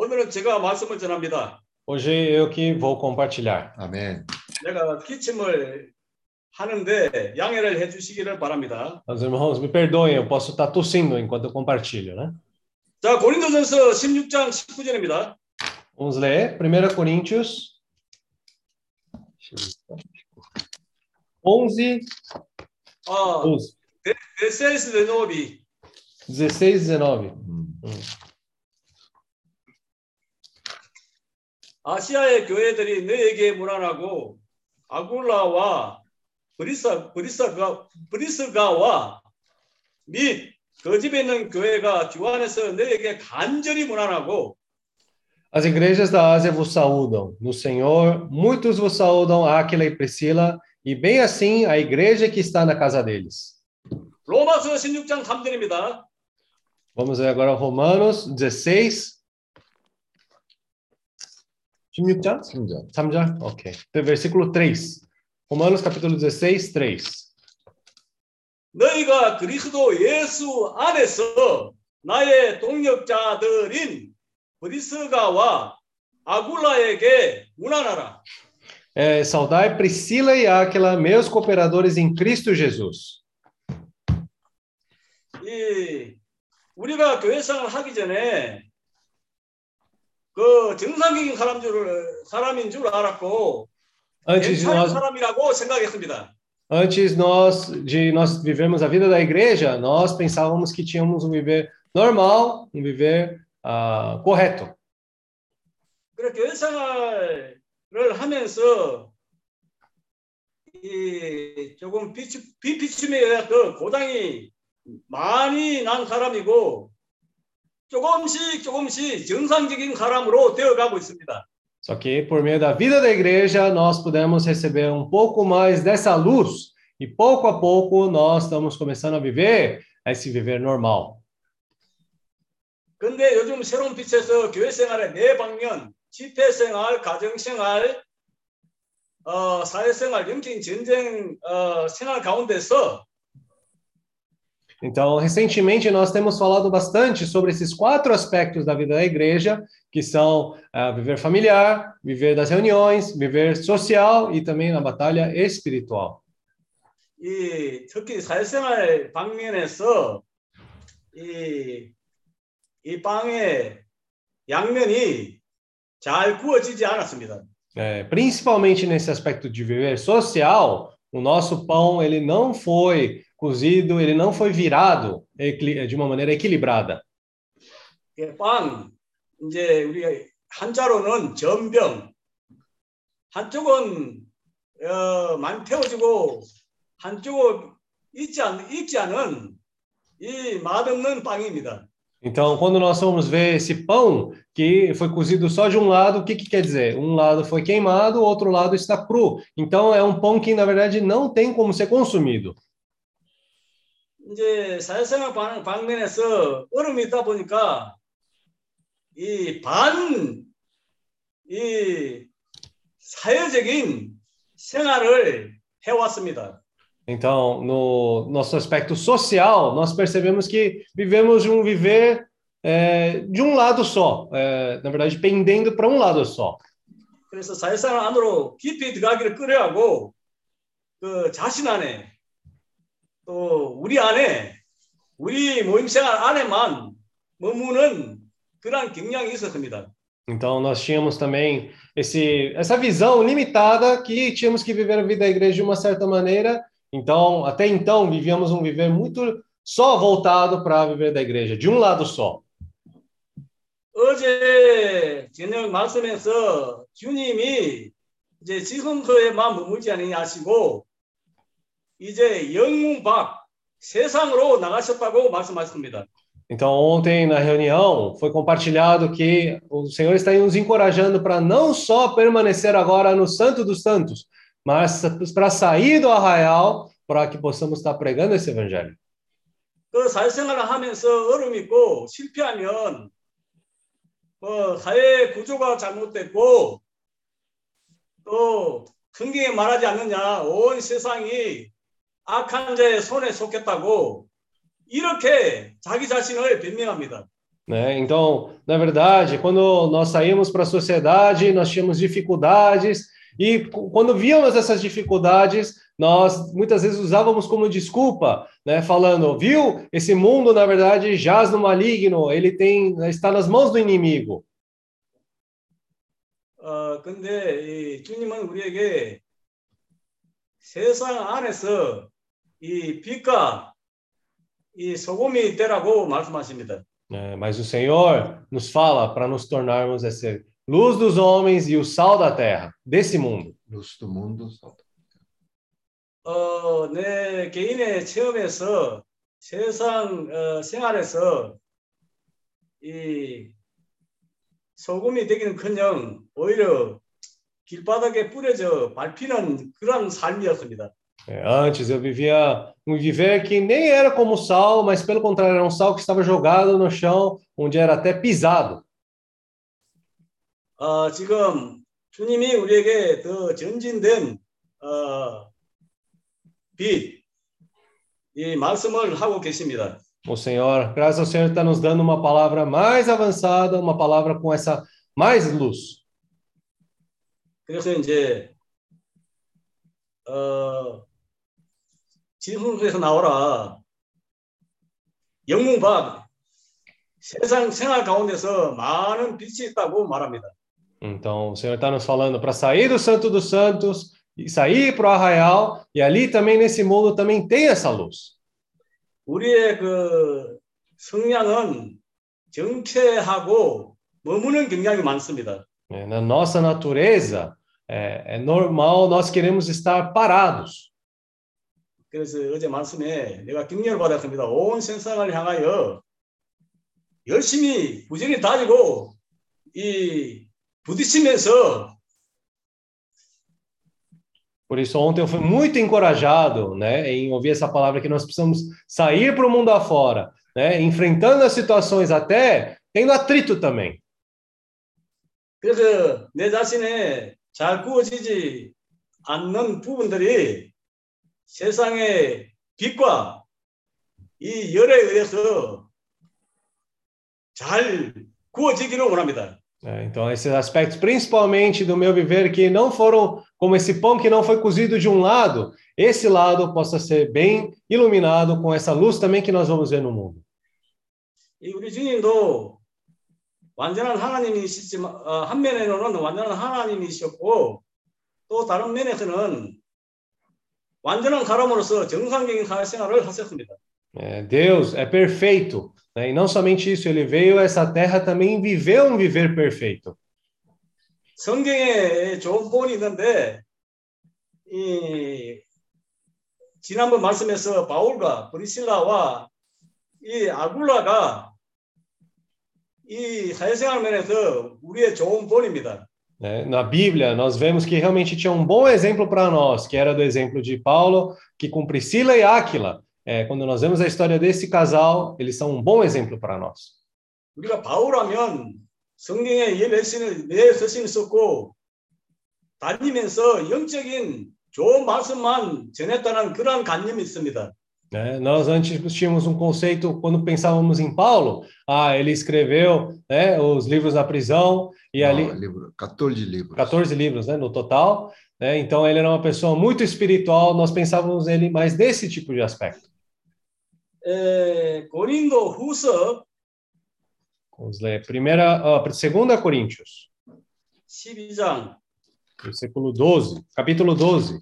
오늘은 제가 말씀을 전합니다. Hoje eu que vou compartilhar. 아멘. 내가 기침을 하는데 양해를 해주시기를 바랍니다. Os irmãos, me perdoem, eu posso estar tossindo enquanto eu compartilho, né? 자, 고린도전서 16장 19절입니다. Vamos ler 1 Coríntios 11, 12, 16, 19. 16, 19. 아시아의 교회들이 너에게 무난하고 아굴라와 브리스가와 및 그 집에 있는 교회가 주 안에서 너에게 간절히 무난하고 As igrejas da Ásia vos saúdam. No Senhor, muitos vos saúdam, Áquila e Priscila, e bem assim a igreja que está na casa deles. 로마서 16장 3절입니다. Vamos ver agora Romanos 16. 16장? 3절. 3절? Ok. Versículo 3. Romanos capítulo 16, 3. 너희가 그리스도 예수 안에서 나의 동역자들인 브리스가와 아굴라에게 무난하라. Saudai Priscila e Áquila, meus cooperadores em Cristo Jesus. 우리가 교회 생활을 하기 전에 그 정상적인 사람인 줄 알았고 괜찮은 사람이라고 생각했습니다. Antes nós vivermos a vida da igreja, nós pensávamos que tínhamos um viver normal, um viver correto. 그래 교회 생활을 하면서 조금 비피침에 의해서 고장이 많이 난 사람이고 조금씩 정상적인 사람으로 되어가고 있습니다. Só que por meio da vida da igreja nós pudemos receber um pouco mais dessa luz e pouco a pouco nós estamos começando a viver esse viver normal. 근데 요즘 새로운 빛에서 교회 생활의 네 방면, 집회 생활, 가정 생활, 사회 생활, 영적인 전쟁 생활 가운데서 Então, recentemente, nós temos falado bastante sobre esses 4 aspectos da vida da igreja, que são viver familiar, viver das reuniões, viver social e também na batalha espiritual. 특히 사회생활 방면에서 이 빵의 양면이 잘 구워지지 않았습니다. Principalmente nesse aspecto de viver social, o nosso pão ele não foi cozido, ele não foi virado de uma maneira equilibrada. 빵 이제 우리 한자로는 전병, 한쪽은 많이 태워지고 한쪽은 익지 않은 이 맛없는 빵입니다. Então, quando nós vamos ver esse pão que foi cozido só de um lado, o que quer dizer? Um lado foi queimado, o outro lado está cru. Então, é um pão que, na verdade, não tem como ser consumido. 이제 사회생활 방면에서 어려움이 있다 보니까 이 사회적인 생활을 해왔습니다. Então, no nosso aspecto social, nós percebemos que vivemos um viver de um lado só, na verdade, pendendo para um lado só. 그래서 사회생활 안으로 깊이 들어가기를 꺼려하고 그 자신 안에 또 우리 안에 우리 모임 생활 안에만 머무는 그런 경향이 있었습니다. Então, nós tínhamos também essa visão limitada que tínhamos que viver a vida da igreja de uma certa maneira. Então, até então, vivíamos um viver muito só voltado para viver da igreja, de um lado só. 어제 저녁 말씀에서 주님이 이제 지성소에만 머물지 않으냐 하시고 이제 영문 밖 세상으로 나가셨다고 말씀하셨습니다. Então, ontem na reunião foi compartilhado que o Senhor está nos encorajando para não só permanecer agora no Santo dos Santos, mas para sair do arraial, para que possamos estar pregando esse evangelho. 그 사회생활을 하면서 어려움이 있고 실패하면 사회 구조가 잘못됐고 또 성경에 말하지 않느냐 온 세상이 악한 자의 손에 속했다고 이렇게 자기 자신을 변명합니다. né? Então, na verdade, quando nós saímos para a sociedade, nós tínhamos dificuldades, e quando víamos essas dificuldades, nós muitas vezes usávamos como desculpa, né? Falando, viu? Esse mundo, na verdade, jaz no maligno, está nas mãos do inimigo. 근데 이 주님은 우리에게 세상 안에서 이 빛과 이 소금이 되라고 말씀하십니다. Mas o Senhor nos fala para nos tornarmos essa luz dos homens e o sal da terra, desse mundo. Luz do mundo. 내 개인의 체험에서 세상 생활에서 이 소금이 되기는커녕 오히려 길바닥에 뿌려져 밟히는 그런 삶이었습니다. Antes eu vivia um viver que nem era como sal, mas pelo contrário, era um sal que estava jogado no chão, onde era até pisado. 지금 주님이 우리에게 더 전진된 빛, 이 말씀을 하고 계십니다. O Senhor, graças ao Senhor, está nos dando uma palavra mais avançada, uma palavra com essa mais luz. 그래서 이제 지성소에서 나오라 영문과 세상 생활 가운데서 많은 빛이 있다고 말합니다. Então, o Senhor está nos falando para sair do Santo dos Santos e sair para o arraial, e ali também nesse mundo também tem essa luz. 우리의 그 성향은 정체하고 머무는 경향이 많습니다. Na nossa natureza, é normal nós queremos estar parados. 그래서 어제 말씀에 내가 격려를 받았습니다. 온 세상을 향하여 열심히 부지런히 다니고 이 부딪히면서. Por isso, ontem eu fui muito encorajado, né, em ouvir essa palavra que nós precisamos sair para o mundo afora, né, enfrentando as situações, até tendo atrito também. 그래서 내 자신에 잘 구워지지 않는 부분들이 세상의 빛과 이 열에 의해서 잘 구워지기를 원합니다. Então, esses aspectos, principalmente do meu viver, que não foram como esse pão que não foi cozido de um lado, esse lado possa ser bem iluminado com essa luz também que nós vamos ver no mundo. 이 우리 주님도 완전한 하나님이시지만 한 면에는 완전한 하나님이셨고 또 다른 면에서는 완전한 사람으로서 정상적인 사회생활을 하셨습니다. Deus é perfeito, né? E não somente isso, ele veio a essa terra também viveu um viver perfeito. 성경에 좋은 본이 있는데 이 지난번 말씀에서 바울과 브리실라와 이 아굴라가 이 사회생활 면에서 우리의 좋은 본입니다. Na Bíblia, nós vemos que realmente tinha um bom exemplo para nós, que era do exemplo de Paulo, que com Priscila e Áquila, quando nós vemos a história desse casal, eles são um bom exemplo para nós. 우리가 바울하면 성경에 내 서신을 썼고 다니면서 영적인 좋은 말씀만 전했다는 그런 관념이 있습니다. Nós antes tínhamos um conceito, quando pensávamos em Paulo, ele escreveu, né, os livros na prisão, e Não, ali... 14 livros. 14 livros, né, no total. Né, então, ele era uma pessoa muito espiritual, nós pensávamos nele mais desse tipo de aspecto. 고린도 후서 Vamos ler 2 Coríntios, 12장 versículo 12, capítulo 12.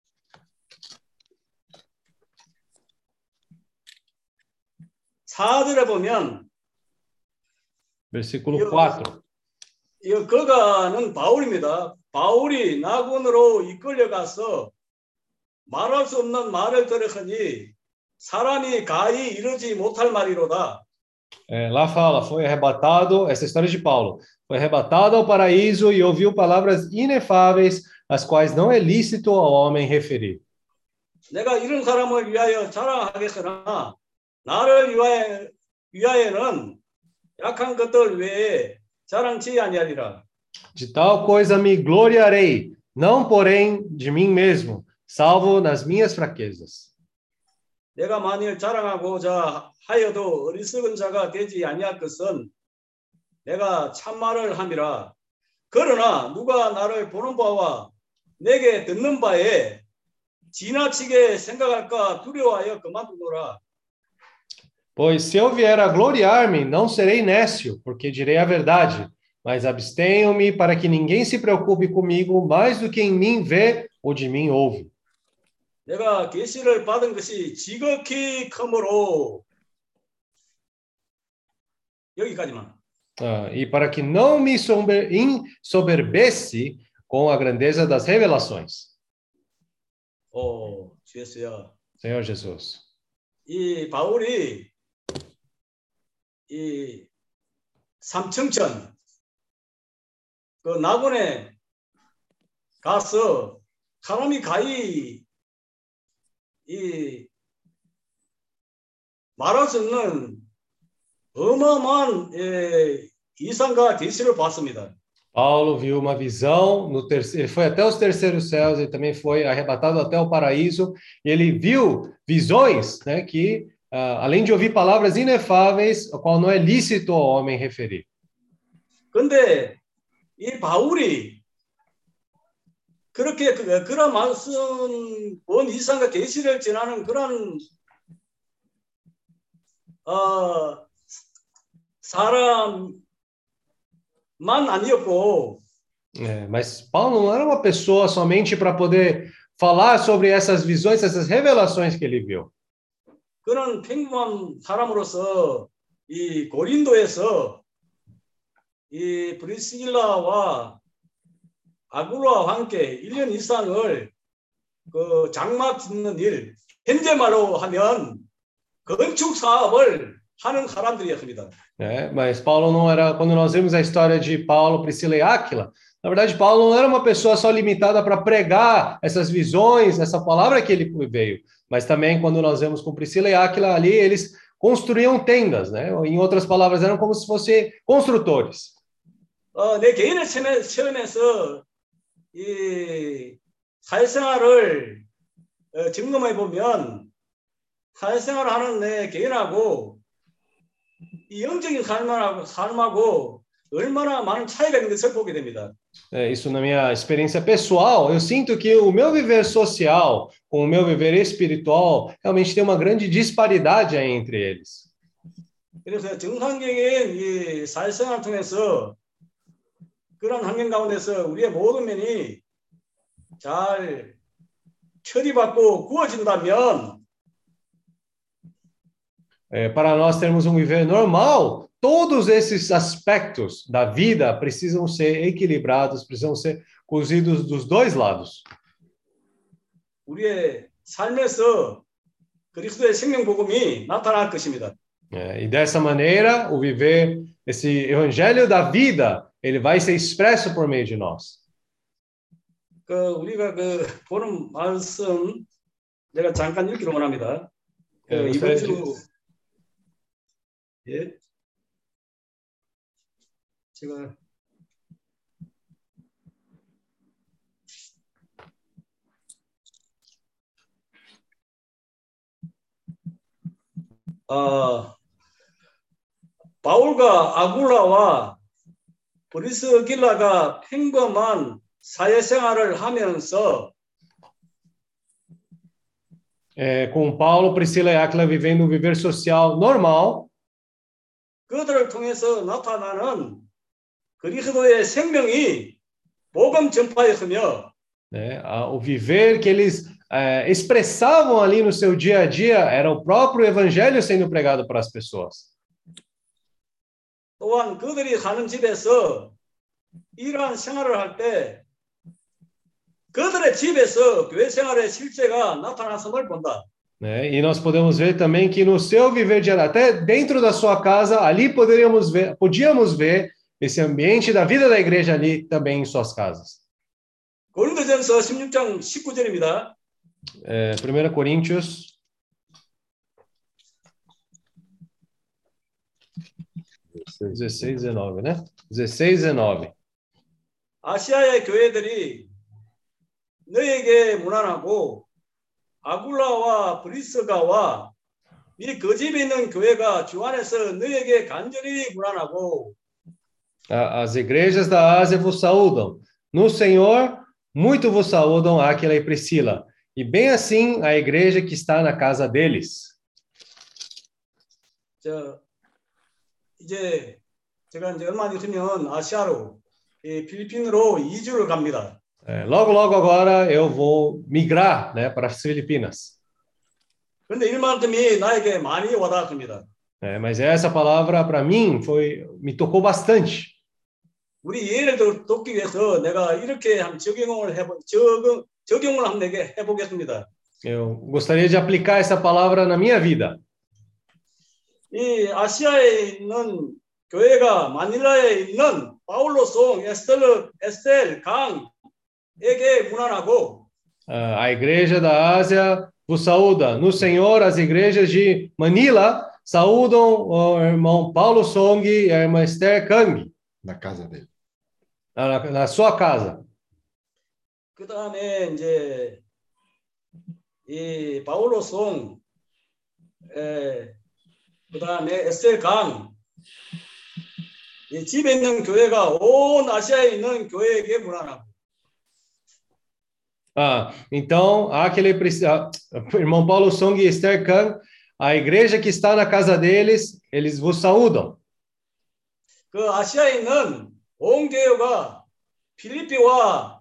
사절에 보면 Versículo 4. 이 그가는 바울입니다. 바울이 나군으로 이끌려가서 말할 수 없는 말을 들으니 사람이 가히 이르지 못할 말이로다. Lá fala, foi arrebatado, essa história de Paulo, foi arrebatado ao paraíso e ouviu palavras inefáveis, as quais não é lícito ao homem referir. 내가 이런 사람을 위하여 자랑하겠으나 나를 위하여는 약한 것들 외에 자랑치 아니하리라. De tal coisa me gloriarei, não porém de mim mesmo, salvo nas minhas fraquezas. 내가 만일 자랑하고자 하여도 어리석은 자가 되지 아니할 것은 내가 참말을 함이라. 그러나 누가 나를 보는 바와 내게 듣는 바에 지나치게 생각할까 두려워하여 그만두노라. Pois se eu vier a gloriar-me, não serei nécio, porque direi a verdade, mas abstenho-me para que ninguém se preocupe comigo mais do que em mim vê ou de mim ouve. 내가 계시를 받은 것이 지극히 크므로 여기까지만. E para que não me ensoberbece com a grandeza das revelações. 주 예수야. Senhor Jesus. 이 바울이 이 삼청천 그 낙원에 가서 사람이 가히 이 말할 수 없는 어마어마한 이상과 계시를 봤습니다. Paulo viu uma visão, ele foi até os terceiros céus, ele também foi arrebatado até o paraíso, e ele viu visões, né, que, além de ouvir palavras inefáveis, o qual não é lícito ao homem referir. 근데 이 바울이 그렇게 그런 말씀, 본 이상과 계시를 전하는 그런 사람만 아니었고, mas Paulo não era uma pessoa somente para poder falar sobre essas visões, essas revelações que ele viu. 그는 평범한 사람으로서 이 고린도에서 이 브리스길라와 아굴라와 함께 1년 이상을 그 장막 짓는 일, 현재 말로 하면 건축 사업을 하는 사람들이었습니다. Mas Paulo não era, quando nós vemos a história de Paulo, Priscila e Áquila, na verdade Paulo não era uma pessoa só limitada para pregar essas visões, essa palavra que ele veio, mas também quando nós vemos com Priscila e Áquila ali, eles construíam tendas, né? Em outras palavras, eram como se fossem construtores. 내 개인의 체험에서 이 사회생활을 점검해 보면 사회생활을 하는 내 개인하고 이 영적인 삶하고 얼마나 많은 차이가 있는 것을 보게 됩니다. Isso na minha experiência pessoal, eu sinto que o meu viver social com o meu viver espiritual realmente tem uma grande disparidade aí entre eles. 그래서 정상적인 이 사회생활을 통해서 그런 환경 가운데서 우리의 모든 면이 잘 처리받고 구워진다면 para nós termos um viver normal, todos esses aspectos da vida precisam ser equilibrados, precisam ser cozidos dos dois lados. 우리의 삶에서 그리스도의 생명 복음이 나타날 것입니다. E dessa maneira, o viver esse evangelho da vida, ele vai ser expresso por meio de nós. 우리가 보는 말씀 내가 잠깐 읽기로 원합니다. 이번 주 예. 제가 바울과 아굴라와 브리스길라가 평범한 사회생활을 하면서 com Paulo, Priscila e Áquila vivendo um viver social normal, 그들을 통해서 나타나는 그리스도의 생명이 복음 전파였으며 o viver que eles expressavam ali no seu dia a dia era o próprio evangelho sendo pregado para as pessoas. 또한 그들이 사는 집에서 이러한 생활을 할 때 그들의 집에서 교회 생활의 실제가 나타났음을 본다. E nós podemos ver também que no seu viver diário, até dentro da sua casa, ali podíamos ver esse ambiente da vida da igreja ali também em suas casas. 고린도전서 16장 19절입니다. 1 Coríntios 16, 19, né? 16, 19. 아시아의 교회들이 너에게 무난하고 아굴라와 브리스가와 이 그 집에 있는 교회가 주 안에서 너에게 간절히 무난하고 As igrejas da Ásia vos saúdam. No Senhor, muito vos saúdam Áquila e Priscila. E bem assim a igreja que está na casa deles. 이제 제가 이제 얼마 있으면 아시아로 필리핀으로 이주를 갑니다. Logo, logo agora eu vou migrar, né, para as Filipinas. 그런데 이 말씀이 나에게 많이 와닿습니다. Mas essa palavra para mim me tocou bastante. 우리 예를 돕기 위해서 내가 이렇게 한번 적용을 한번 내게 해보겠습니다. Eu gostaria de aplicar essa palavra na minha vida. 이 아시아에 있는 교회가 마닐라에 있는 바울로 송 에스텔 강에게 문안하고 A igreja da Ásia vos saúda. No Senhor, as igrejas de Manila saúdam o irmão Paulo Song e a irmã Esther Kang. Na casa dele. Na sua casa. 그 다음에 이제 이 바울로 송 그 다음에 에스텔 강 집에 있는 교회가 온 아시아에 있는 교회에게 문안하고. Então, o irmão Paulo Song e Esther Kang, a igreja que está na casa deles, eles vos saúdam. 그 아시아에 있는 온 교회가 필리핀과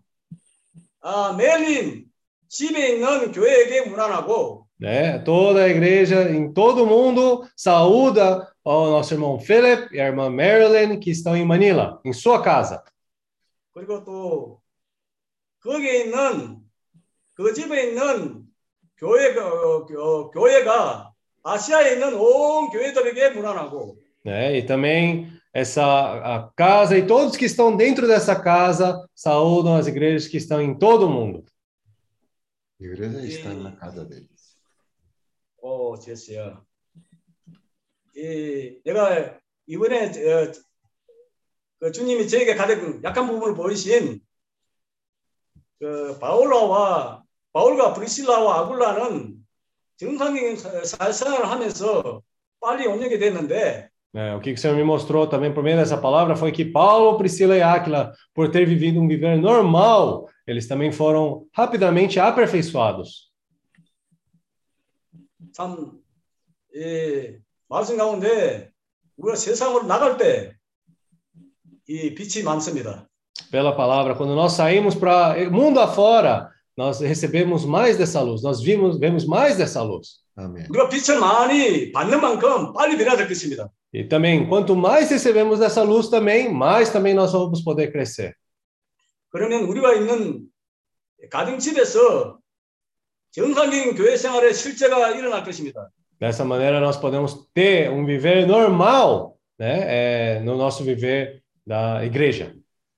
멜린 집에 있는 교회에게 문안하고. Toda a igreja em todo o mundo saúda ao nosso irmão Philip e a irmã Marilyn que estão em Manila, em sua casa. 그리고 또 거기에 있는 그 집에 있는 교회가 아시아에 있는 온 교회들에게 문안하고. E também a casa e todos que estão dentro dessa casa saúdam as igrejas que estão em todo o mundo. A igreja está na casa deles. 제스야. 내가 이번에 그 주님이 저에게 가장 약한 부분을 보이신 그 바울과 브리실라와 아굴라는 정상적인 사회생활을 하면서 빨리 옮기게 됐는데. O que o Senhor me mostrou também por meio dessa palavra foi que Paulo, Priscila e Áquila, por ter vivido um viver normal, eles também foram rapidamente aperfeiçoados. 참, 말씀 가운데 우리가 세상으로 나갈 때 이 빛이 많습니다. Pela palavra, quando nós saímos para o mundo afora, nós recebemos mais dessa luz, nós vemos mais dessa luz. Amém. 우리가 빛을 많이 받는 만큼 빨리 변해야 될 것입니다. E também, quanto mais recebemos dessa luz também, mais também nós vamos poder crescer. 그러면 우리가 있는 가정집에서 정상적인 교회 생활의 실제가 일어날 것입니다. Dessa maneira, nós podemos ter um viver normal, né, no nosso viver da igreja.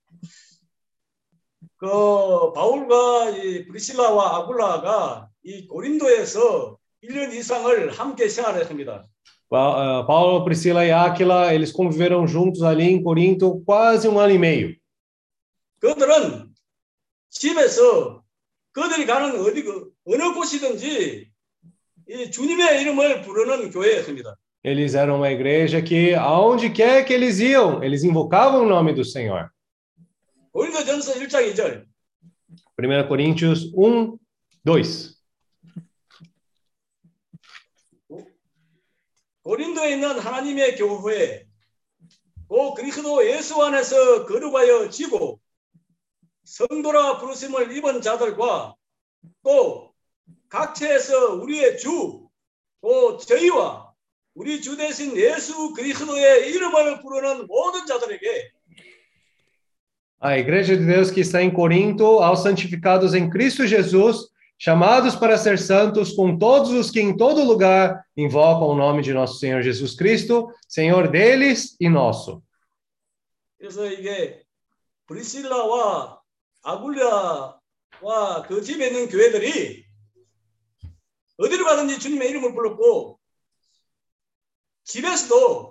그 바울과 이 브리실라와 아굴라가 이 고린도에서 1년 이상을 함께 생활했습니다. Paulo, Priscila e Áquila, eles conviveram juntos ali em Corinto quase 1 ano e meio. 그들은 집에서 그들이 가는 어느 곳이든지 이 주님의 이름을 부르는 교회였습니다. Eles eram uma igreja que, aonde quer que eles iam, eles invocavam o nome do Senhor. 고린도전서 1장 2절. 1 Coríntios 1, 2. 고린도에 있는 하나님의 교회, 또 그리스도 예수 안에서 거룩하여 지고 성도라 부르심을 입은 자들과 또 각처에서 우리의 주, 또 저희와 우리 주 대신 예수 그리스도의 이름을 부르는 모든 자들에게 A igreja de Deus que está em Corinto, aos santificados em Cristo Jesus, chamados para ser santos, com todos os que em todo lugar invocam o nome de nosso Senhor Jesus Cristo, Senhor deles e nosso. 그래서 이게 브리실라와 아굴라와 그 집에 있는 교회들이 어디로 가든지 주님의 이름을 불렀고 집에서도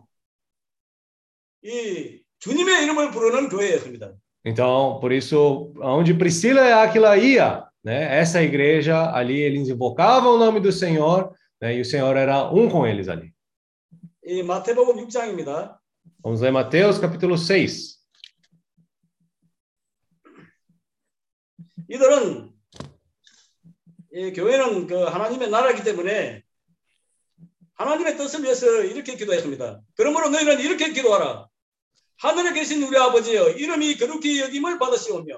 이 주님의 이름을 부르는 교회였습니다. Então, por isso, onde Priscila e Áquila ia, né, essa igreja ali, eles invocavam o nome do Senhor, né, e o Senhor era um com eles ali. 이 마태복음 6장입니다. Vamos ler Mateus capítulo 6. 이들은 이 교회는 그 하나님의 나라이기 때문에 하나님의 뜻을 위해서 이렇게 기도했습니다. 그러므로 너희는 이렇게 기도하라. 하늘에 계신 우리 아버지여, 이름이 거룩히 여김을 받으시오며.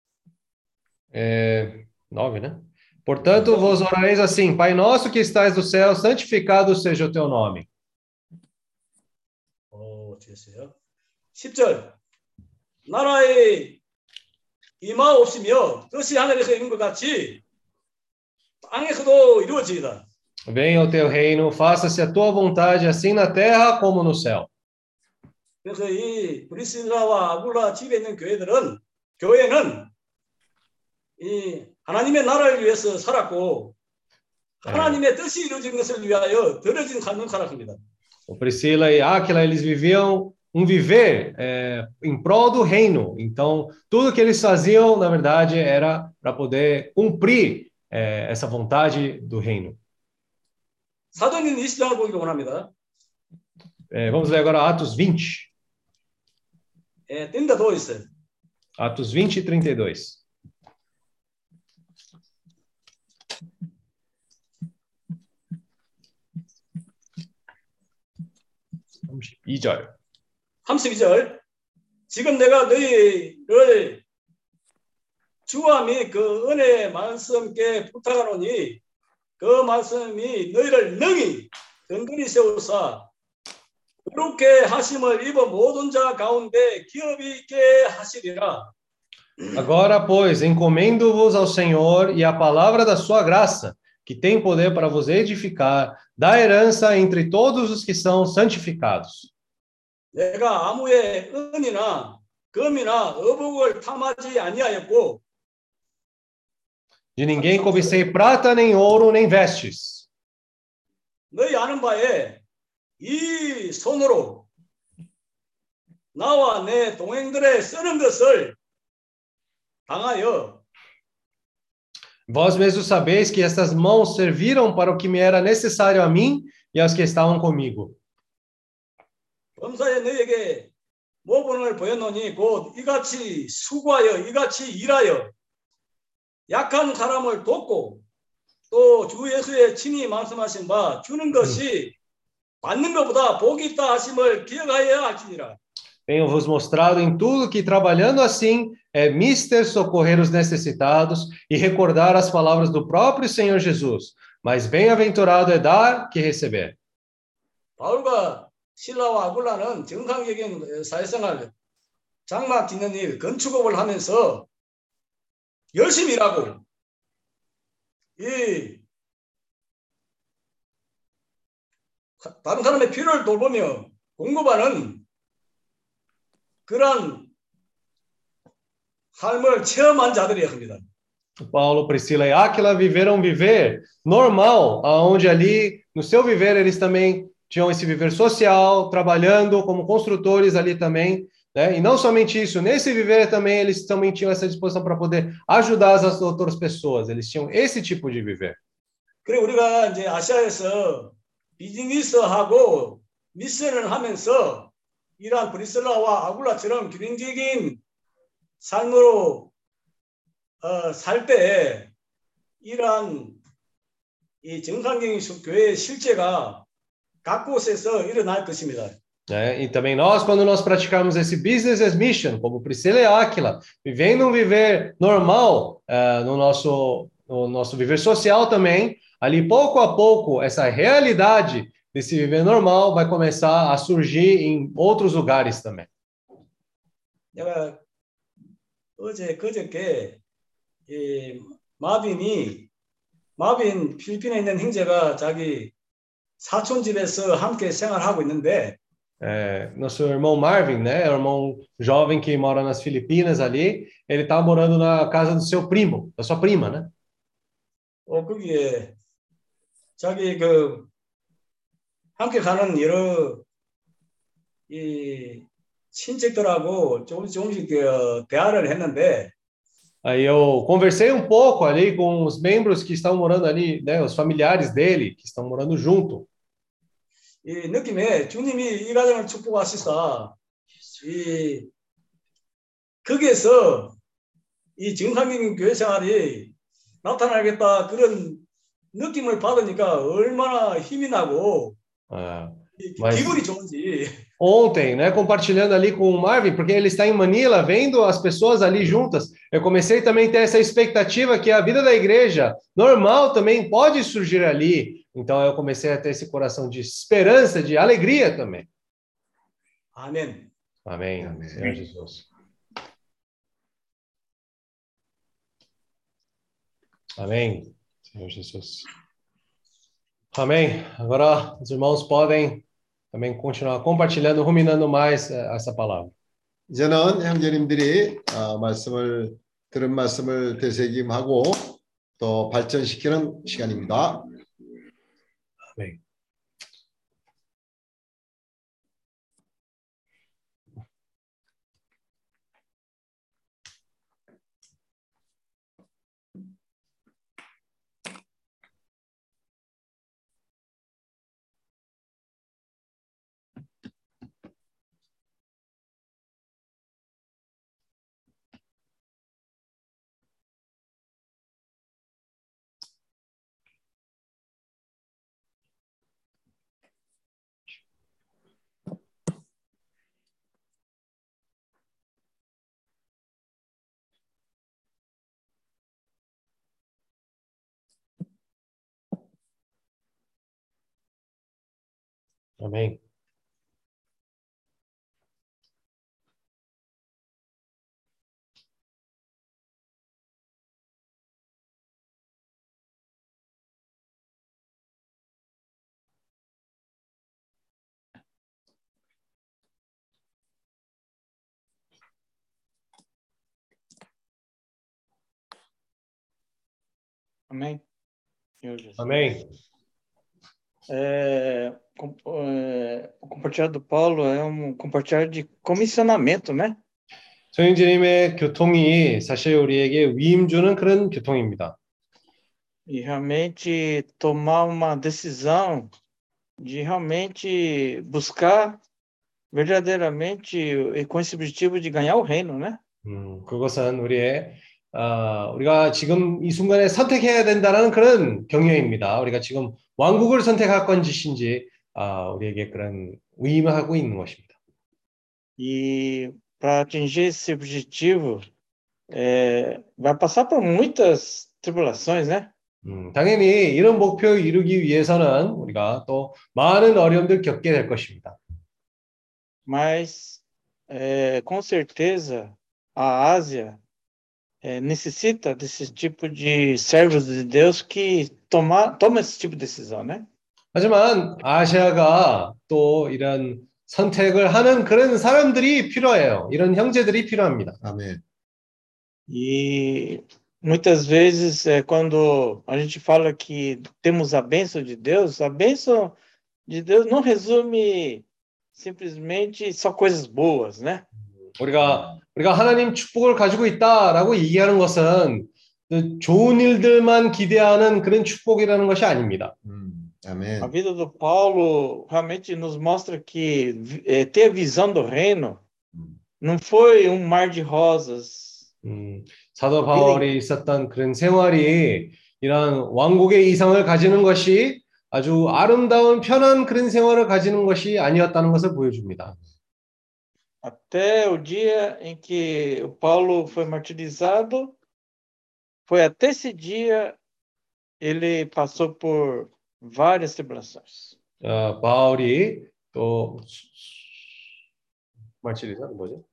9, né? Portanto, vos orareis assim: Pai nosso que estais no céu, santificado seja o teu nome. 됐어요. 10절. 나라에 임하옵시며 뜻이 하늘에서 이룬 것 같이 땅에서도 이루어지이다. Venha o teu reino, faça-se a tua vontade, assim na terra como no céu. 그래서 이 브리실라와 아굴라 집에 있는 교회는 이 하나님의 나라를 위해서 살았고 하나님의 뜻이 이루어진 것을 위하여 들어진 삶을 살았습니다. O Priscila e Áquila, eles viviam um viver em prol do reino. Então, tudo que eles faziam, na verdade, era para poder cumprir essa vontade do reino. 사도행전 20장을 보기를 원합니다. Vamos ler agora Atos 20. 뜬다 더 있어요. Atos 20 e 32. 32절. 32절. 지금 내가 너희를 주와 및 그 은혜의 말씀께 부탁하노니 그 말씀이 너희를 능히 든든히 세우사 그렇게 하심을 입어 모든 자 가운데 기업이 있게 하시리라. Agora, pois, encomendo-vos ao Senhor e à palavra da sua graça, que tem poder para vos edificar, da herança entre todos os que são santificados. 내가 아무의 은이나 금이나 의복을 탐하지 아니하였고 De ninguém cobicei prata, nem ouro, nem vestes. 너희 아는 바에 이 손으로 나와 내 동행들의 쓰는 것을 당하여 Vós mesmos sabeis que estas mãos serviram para o que me era necessário a mim e aos que estavam comigo. 범사에 너희에게 모본을 보였노니 곧 이같이 수고하여 이같이 일하여 약한 사람을 돕고 또 주 예수의 친히 말씀하신 바 주는 것이 받는 것보다 복이 있다 하심을 기억하여야 할지니라. Tenho-vos mostrado em tudo que, trabalhando assim, é mister socorrer os necessitados e recordar as palavras do próprio Senhor Jesus. Mas bem-aventurado é dar que receber. 바울과 실라와 아굴라는 정상적인 사회생활, 장막 짓는 일, 건축업을 하면서 열심히 일하고 이 다른 사람의 필요를 돌보며 공급하는 그런 삶을 체험한 자들이었습니다. Paulo, Priscila e Áquila viveram um viver normal, onde ali, no seu viver, eles também tinham esse viver social, trabalhando como construtores ali também, né? E não somente isso, nesse viver também, eles também tinham essa disposição para poder ajudar as outras pessoas, eles tinham esse tipo de viver. 그리고 우리가 이제 아시아에서 비즈니스하고 미션을 하면서 이러한 브리슬라와 아굴라처럼 균형적인 삶으로 살 때 이러한 이 정상적인 교회의 실제가 각 곳에서 일어날 것입니다. E também nós, quando nós praticarmos esse business as mission, como Priscila e Áquila, vivendo um viver normal no nosso viver social também, ali pouco a pouco, essa realidade desse viver normal vai começar a surgir em outros lugares também. 내가 그저께 마빈 필리핀에 있는 형제가 자기 사촌 집에서 함께 생활하고 있는데 nosso irmão Marvin, né, é um irmão jovem que mora nas Filipinas ali, ele tá morando na casa do seu primo, da sua prima, né? 거기에 자기 함께 가는 여러 이 친척들하고 조금씩 대화를 했는데 Aí eu conversei um pouco ali com os membros que estão morando ali, né, os familiares dele, que estão morando junto. 이 느낌에 주님이 이 가정을 축복하시사 거기에서 이 정상적인 교회 생활이 나타나겠다 그런 느낌을 받으니까 얼마나 힘이 나고 Ah, mas 기분이 좋은지. ontem, né, compartilhando ali com o Marvin, porque ele está em Manila, vendo as pessoas ali juntas, eu comecei também a ter essa expectativa que a vida da igreja normal também pode surgir ali. Então eu comecei a ter esse coração de esperança, de alegria também. 아멘. Amém, Amém. Senhor Jesus. Amém, Senhor Jesus. Amém. Agora os irmãos podem também continuar compartilhando, ruminando mais essa palavra. 이제는 형제님들이 들은 말씀을 되새김하고 또 발전시키는 시간입니다. Amém. Amém. Amém. Senhor Jesus. Amém. O compartilhar do Paulo é um compartilhar de comissionamento, né? 소영진님의 교통이 사실 우리에게 위임 주는 그런 교통입니다. E realmente tomar uma decisão de realmente buscar verdadeiramente e com esse objetivo de ganhar o reino, né? 그것은 우리가 지금 이 순간에 선택해야 된다는 그런 경외입니다. 우리가 지금 왕국을 선택할 건지신지 우리에게 그런 위임하고 있는 것입니다. E para atingir esse objetivo, vai passar por muitas tribulações, né? 당연히 이런 목표 이루기 위해서는 우리가 또 많은 어려움들 겪게 될 것입니다. Mas com certeza a Ásia necessita desse tipo de servos de Deus que toma esse tipo de decisão, né? 하지만 아시아가 또 이런 선택을 하는 그런 사람들이 필요해요. 이런 형제들이 필요합니다. 아멘. E muitas vezes quando a gente fala que temos a bênção de Deus não resume simplesmente só coisas boas, né? 우리가 하나님 축복을 가지고 있다라고 얘기하는 것은 좋은 일들만 기대하는 그런 축복이라는 것이 아닙니다. 아멘. A vida do Paulo realmente nos mostra que ter a visão do reino não foi um mar de rosas. 사도 바울이 있었던 그런 생활이 이런 왕국의 이상을 가지는 것이 아주 아름다운 편한 그런 생활을 가지는 것이 아니었다는 것을 보여줍니다. Até o dia em que o Paulo foi martirizado, foi até esse dia ele passou por várias tribulações. 바울이 또 말치리사는 뭐죠?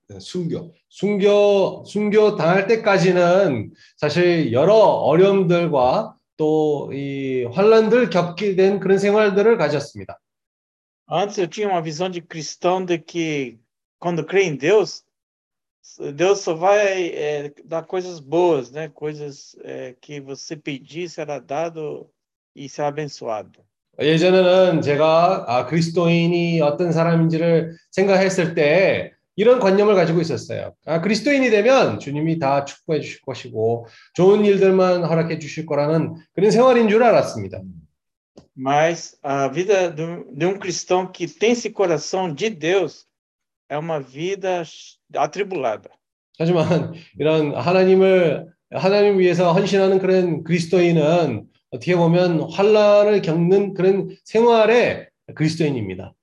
순교 당할 때까지는 사실 여러 어려움들과 또 이 환난들 겪게 된 그런 생활들을 가졌습니다. Antes eu tinha uma visão de cristão de que quando crê em Deus, Deus só vai dar coisas boas, né? Coisas que você pedir será dado e será abençoado. 예전에는 제가 그리스도인이 어떤 사람인지를 생각했을 때 이런 관념을 가지고 있었어요. 그리스도인이 되면 주님이 다 축복해 주실 것이고 좋은 일들만 허락해 주실 거라는 그런 생활인 줄 알았습니다. Mas a vida de cristão que tem esse coração de Deus é uma vida atribulada. 하지만 이런 하나님 위해서 헌신하는 그런 그리스도인은 어떻게 보면 환난을 겪는 그런 생활의 그리스도인입니다.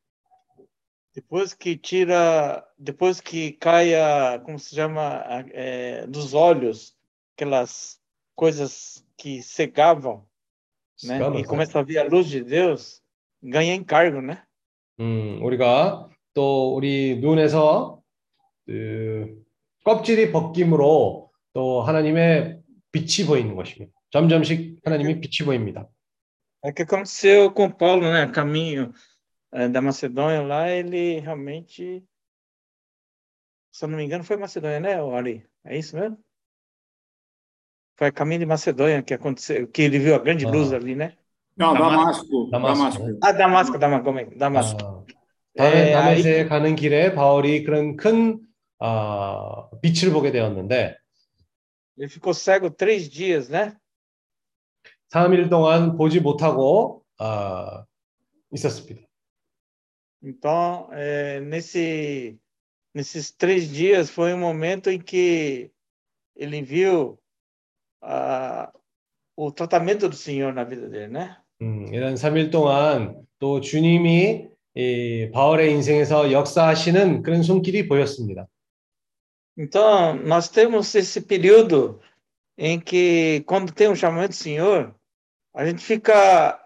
Depois que cai como se chama, dos olhos, aquelas coisas que cegavam, né? E começa a ver a luz de Deus, ganha encargo, né? 우리가 또 우리 눈에서 그 껍질이 벗김으로 또 하나님의 빛이 보이는 것입니다. 점점씩 하나님의 빛이 보입니다. É o que aconteceu com Paulo, né? Caminho da Macedônia lá, ele realmente, se eu não me engano, foi Macedônia, né, Ari? É isso mesmo? Foi a caminho de Macedônia que aconteceu, que ele viu a grande luz ali, né? Não, Damasco. Damasco. Damasco. 다메섹에 가는 길에 바울이 그런 큰 빛을 보게 되었는데 ele ficou cego 3 dias, né? 3일 동안 보지 못하고 있었습니다. Então, nesses 3 dias foi um momento em que ele viu o tratamento do Senhor na vida dele, né? 이런 3일 동안 또 주님이 이 바울의 인생에서 역사하시는 그런 손길이 보였습니다. Então, nós temos esse período em que, quando tem um chamamento do Senhor, a gente fica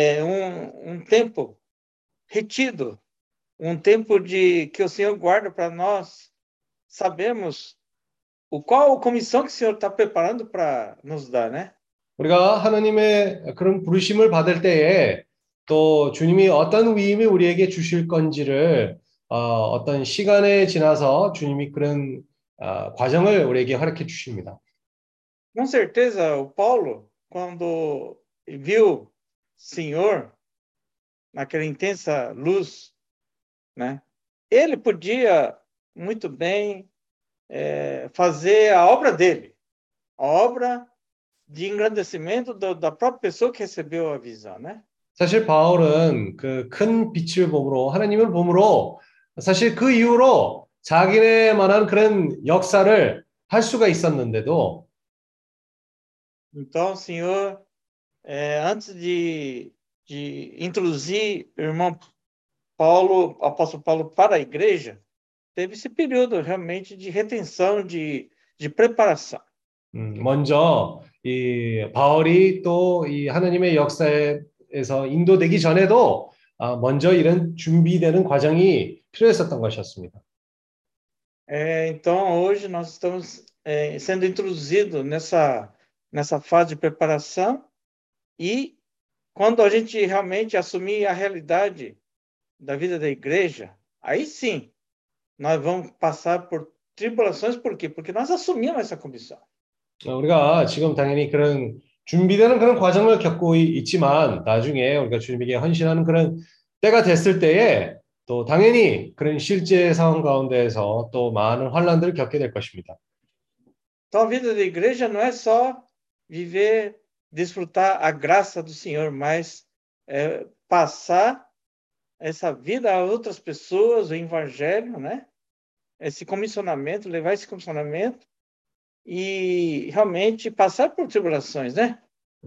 um tempo retido, um tempo que o Senhor guarda para nós sabermos qual a comissão que o Senhor está preparando para nos dar, né? 우리가 하나님의 그런 부르심을 받을 때에 또 주님이 어떤 위임을 우리에게 주실 건지를 어떤 시간에 지나서 주님이 그런 과정을 우리에게 허락해 주십니다. Com certeza, o Paulo, quando viu o Senhor naquela intensa luz, né? Ele podia muito bem fazer a obra dele, a obra de engrandecimento da própria pessoa que recebeu a visão, né? 사실 바울은 그 큰 빛을 봄으로 하나님을 봄으로 사실 그 이후로 자기네만한 그런 역사를 할 수가 있었는데도 Então, o Senhor, antes de introduzir o irmão Paulo, apóstolo Paulo, para a igreja, teve esse período realmente de retenção, de preparação. 먼저 이 바울이 또 이 하나님의 역사에서 인도되기 전에도 먼저 이런 준비되는 과정이 필요했었던 것이었습니다. Então, hoje nós estamos sendo introduzidos nessa fase de preparação e quando a gente realmente assumir a realidade da vida da igreja, aí sim, nós vamos passar por tribulações. Por quê? Porque nós assumimos essa comissão. 우리가 지금 당연히 그런 준비되는 그런 과정을 겪고 있지만 나중에 우리가 주님에게 헌신하는 그런 때가 됐을 때에 또 당연히 그런 실제 상황 가운데에서 또 많은 환난들을 겪게 될 것입니다. Então, a vida da igreja não é só viver, desfrutar a graça do Senhor, mas passar essa vida a outras pessoas, o evangelho, né? Esse comissionamento, levar esse comissionamento e realmente passar por tribulações, né?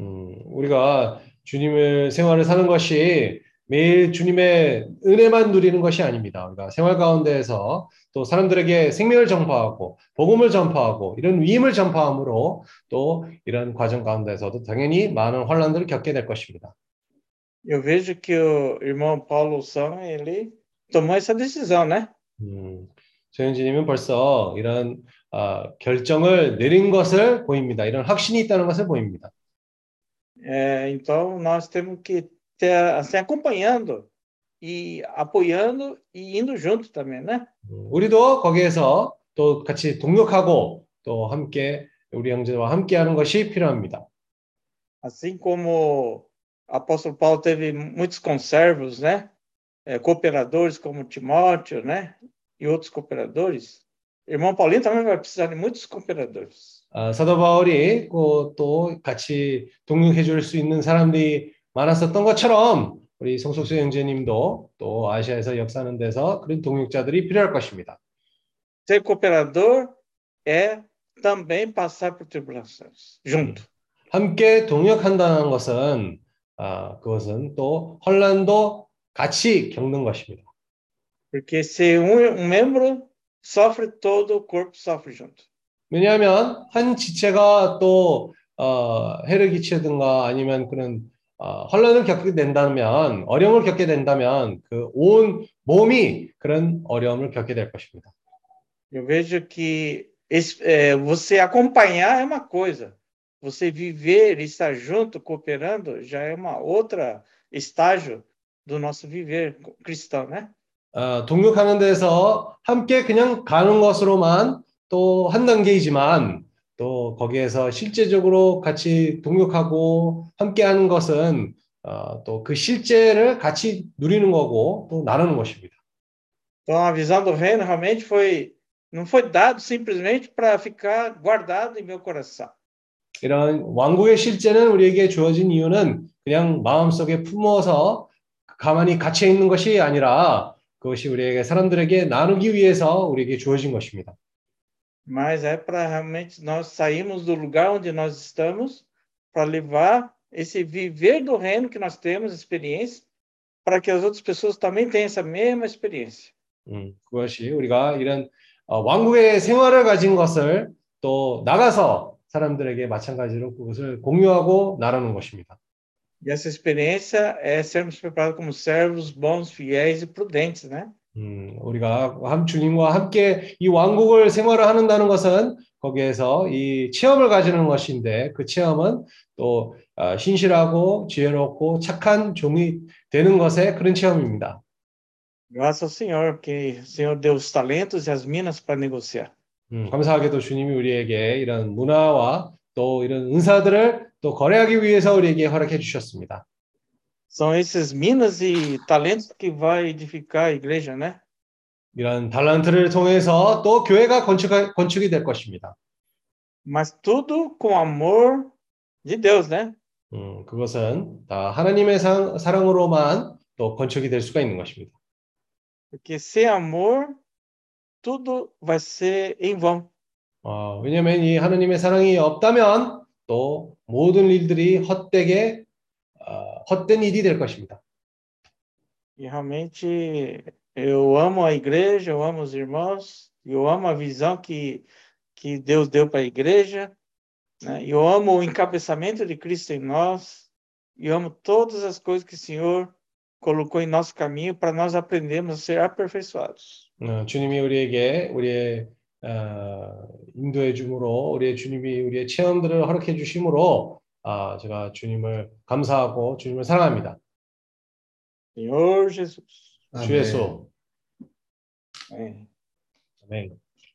우리가 주님의 생활을 사는 것이 매일 주님의 은혜만 누리는 것이 아닙니다. 우리가 생활 가운데에서 또 사람들에게 생명을 전파하고 복음을 전파하고 이런 위임을 전파함으로 또 이런 과정 가운데서도 당연히 많은 환난들을 겪게 될 것입니다. Eu vejo que o irmão Paulo São, ele tomou essa decisão, né? 조현진님은 벌써 이런 결정을 내린 것을 보입니다. 이런 확신이 있다는 것을 보입니다. Então nós temos que ter assim acompanhando e apoiando e indo junto também, né? 우리도 거기에서 또 같이 동역하고 또 함께 우리 형제와 함께하는 것이 필요합니다. Assim como o apóstolo Paulo teve muitos conservos, né? Cooperadores como Timóteo, né? E outros cooperadores. Irmão Paulinho também vai precisar de muitos cooperadores. 사도 바울이 또 같이 동역해 줄 수 있는 사람들이 많았었던 것처럼 우리 송석수 형제님도 또 아시아에서 역사하는 데서 그런 동역자들이 필요할 것입니다. Ser cooperador é também passar por tribulações, junto. 함께 동역한다는 것은 그것은 또 환난도 같이 겪는 것입니다. Porque se um membro sofre, todo o corpo sofre junto. 왜냐하면 한 지체가 또 해를 끼치든가 아니면 그런 환난을 겪게 된다면 어려움을 겪게 된다면 그 온 몸이 그런 어려움을 겪게 될 것입니다. Eu vejo que você acompanhar é uma coisa, você viver e estar junto, cooperando, já é uma outra estágio do nosso viver cristão, né? 동역하는 데서 함께 그냥 가는 것으로만 또 한 단계이지만 또 거기에서 실제적으로 같이 동역하고 함께하는 것은 또 그 실제를 같이 누리는 거고 또 나누는 것입니다. Então a visão do reino realmente não foi dado simplesmente para ficar guardado em meu coração. 이런 왕국의 실제는 우리에게 주어진 이유는 그냥 마음속에 품어서 가만히 갇혀 있는 것이 아니라 그것이 우리에게 사람들에게 나누기 위해서 우리에게 주어진 것입니다. Mas é para realmente nós sairmos do lugar onde nós estamos para levar esse viver do reino que nós temos, experiência, para que as outras pessoas também tenham essa mesma experiência. 그것이 우리가 이런 왕국의 생활을 가진 것을 또 나가서 사람들에게 마찬가지로 그것을 공유하고 나누는 것입니다. E essa experiência é sermos preparados como servos bons, fiéis e prudentes, né? 우리가 주님과 함께 이 왕국을 생활을 한다는 것은 거기에서 이 체험을 가지는 것인데 그 체험은 또 신실하고 지혜롭고 착한 종이 되는 것의 그런 체험입니다. Graças ao Senhor, que o Senhor deu os talentos e as minas para negociar. 감사하게도 주님이 우리에게 이런 문화와 또 이런 은사들을 또 거래하기 위해서 우리에게 허락해 주셨습니다. São esses minas e talentos que vai edificar a igreja, né? 이런 달란트를 통해서 또 교회가 건축이 될 것입니다. Mas tudo com amor de Deus, né? 그것은 다 하나님의 사랑으로만 또 건축이 될 수가 있는 것입니다. Porque sem amor, tudo vai ser em vão. 왜냐하면 이 하나님의 사랑이 없다면 또 모든 일들이 헛된 일이 될 것입니다. E realmente eu amo a igreja, eu amo os irmãos, eu amo a visão que Deus deu para a igreja, né? Eu amo o encabeçamento de Cristo em nós, e amo todas as coisas que o Senhor colocou em nosso caminho para nós aprendermos a ser aperfeiçoados. 주님이 우리에게 우리의 인도해 줌으로 주님이 우리의 체험들을 허락해 주심으로 제가 주님을 감사하고 주님을 사랑합니다. Senhor Jesus. 주 예수. Amém. 아멘.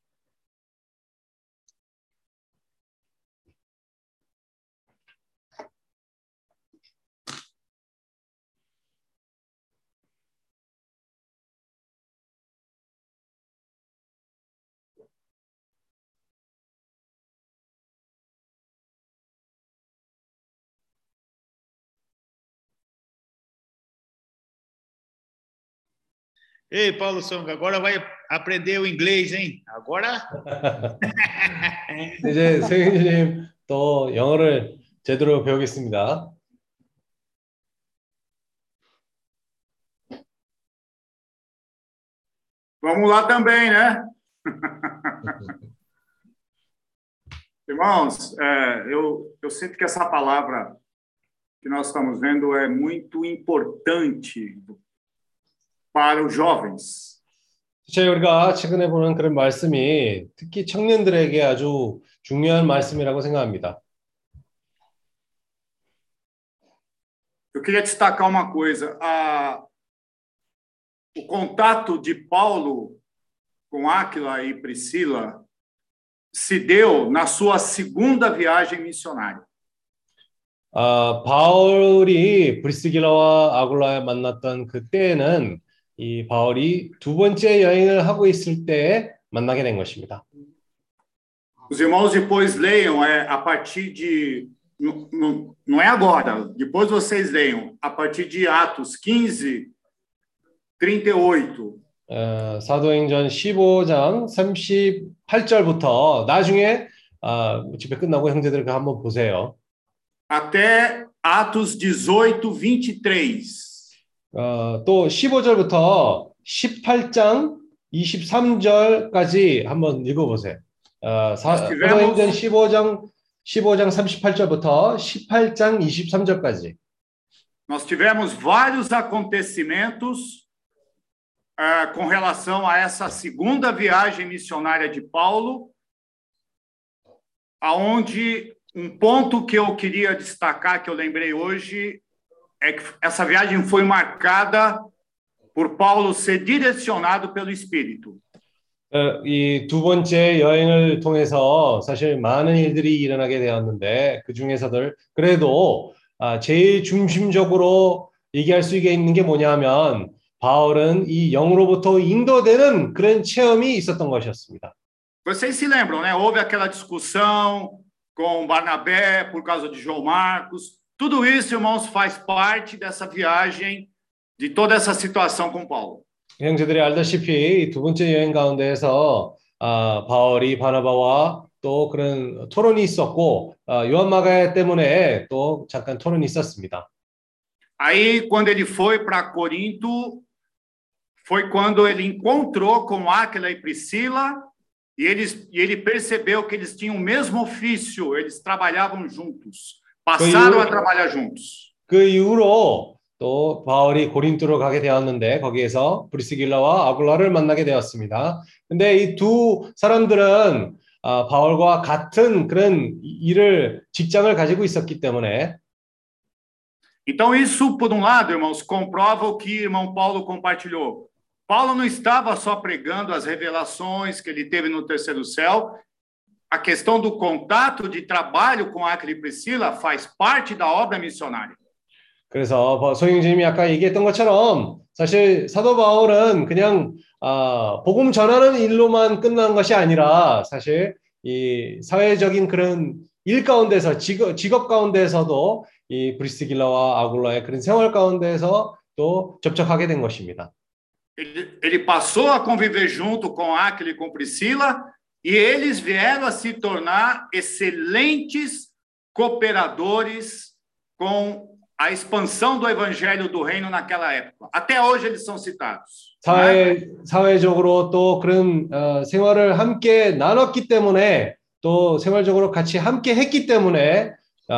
Ei, Paulo Songa, agora vai aprender o inglês, hein? Agora? 이제 성인님 또 영어를 제대로 배우겠습니다. Vamos lá também, né? Irmãos, eu sinto que essa palavra que nós estamos vendo é muito importante para os jovens. 우리가 최근에 보는 그런 말씀이 특히 청년들에게 아주 중요한 말씀이라고 생각합니다. Eu queria destacar uma coisa. O contato de Paulo com Áquila e Priscila se deu na sua segunda viagem missionária. 바울이 브리스길라와 아굴라에 만났던 그때는 이 바울이 두 번째 여행을 하고 있을 때 만나게 된 것입니다. Os irmãos depois leiam a partir de não é agora, depois vocês leiam a partir de Atos 15, 38. 사도행전 15장 8절부터 나중에 집회 끝나고 형제들 그 한번 보세요. até Atos 18, 23. 또 15절부터 18장 23절까지 한번 읽어보세요. 사도행전 15장 38절부터 18장 23절까지. Nós tivemos vários acontecimentos com relação a essa segunda viagem missionária de Paulo, aonde um ponto que eu queria destacar, que eu lembrei hoje, é que essa viagem foi marcada por Paulo ser direcionado pelo Espírito. 이 두 번째 여행을 통해서 사실 많은 일들이 일어나게 되었는데 그 중에서도 그래도 제일 중심적으로 얘기할 수 있는 게 뭐냐면 바울은 이 영으로부터 인도되는 그런 체험이 있었던 것이었습니다. Vocês se lembram, né? Houve aquela discussão com Barnabé por causa de João Marcos. Tudo isso, irmãos, faz parte dessa viagem, de toda essa situação com Paulo. 형제들이 알다시피 두 번째 여행 가운데에서 바울이 바나바와 또 그런 토론이 있었고 요한 마가 때문에 또 잠깐 토론이 있었습니다. Aí, quando ele foi para Corinto, foi quando ele encontrou com Áquila e Priscila e ele percebeu que eles tinham o mesmo ofício, eles trabalhavam juntos, passaram a trabalhar juntos. 그 이후로 또 바울이 고린도로 가게 되었는데 거기에서 브리스길라와 아굴라를 만나게 되었습니다. 근데 이 두 사람들은 바울과 같은 그런 직장을 가지고 있었기 때문에 Então isso, por um lado, irmãos, comprova o que o irmão Paulo compartilhou. Paulo não estava só pregando as revelações que ele teve no terceiro céu. A questão do contato de trabalho com Áquila e Priscila faz parte da obra missionária. 그래서 소영님이 아까 얘기했던 것처럼 사실 사도 바울은 그냥 복음 전하는 일로만 끝난 것이 아니라 사실 이 사회적인 그런 일 가운데서 직업 가운데서도 이 브리스길라와 아굴라의 그런 생활 가운데서 또 접촉하게 된 것입니다. Ele passou a conviver junto com Áquila e com Priscila e eles vieram a se tornar excelentes cooperadores com a expansão do evangelho do reino naquela época. Até hoje eles são citados. 사회적으로 또 그런 생활을 함께 나눴기 때문에 또 생활적으로 같이 함께 했기 때문에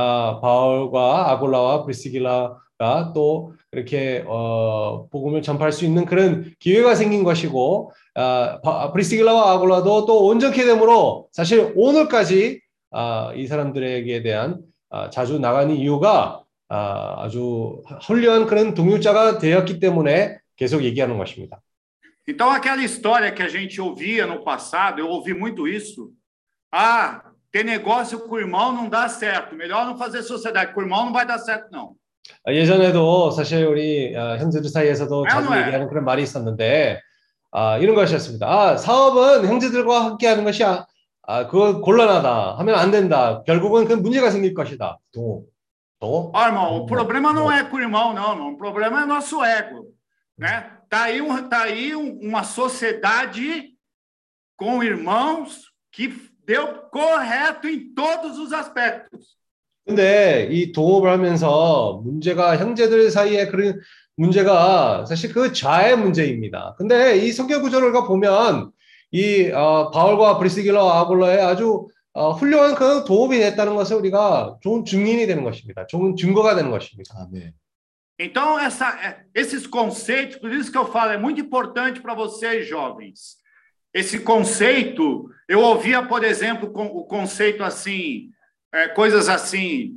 바울과 아굴라와 브리스길라가 또 이렇게 복음을 전파할 수 있는 그런 기회가 생긴 것이고 브리스길라와 아굴라도 또 온전케 됨으로 사실 오늘까지 이 사람들에게 대한 자주 나가는 이유가 아주 훌륭한 그런 동역자가 되었기 때문에 계속 얘기하는 것입니다. Então aquela história que a gente ouvia no passado, eu ouvi muito isso. Ter negócio com o irmão não dá certo. Melhor não fazer sociedade com o irmão, não vai dar certo não. 예전에도 사실 우리 형제들 사이에서도 자주 얘기하는 그런 말이 있었는데 이런 것이었습니다. 사업은 형제들과 함께하는 것이야. 그거 곤란하다. 하면 안 된다. 결국은 그 문제가 생길 것이다. Irmão, o problema não é com o irmão, não. O problema é nosso ego, né? Tá aí uma sociedade com irmãos que deu correto em todos os aspectos. 근데 이 동업을 하면서 문제가 형제들 사이에 그런 문제가 사실 그 자의 문제입니다. 근데 이 성경 구조를 보면 이 바울과 브리스길라와 아굴라의 아주 훌륭한 그 도움이 됐다는 것을 우리가 좋은 증인이 되는 것입니다. 좋은 증거가 되는 것입니다. 아멘. Então, esses conceitos, por isso que eu falo, é muito importante para vocês, jovens. Esse conceito, eu ouvia, por exemplo, o conceito assim, coisas assim,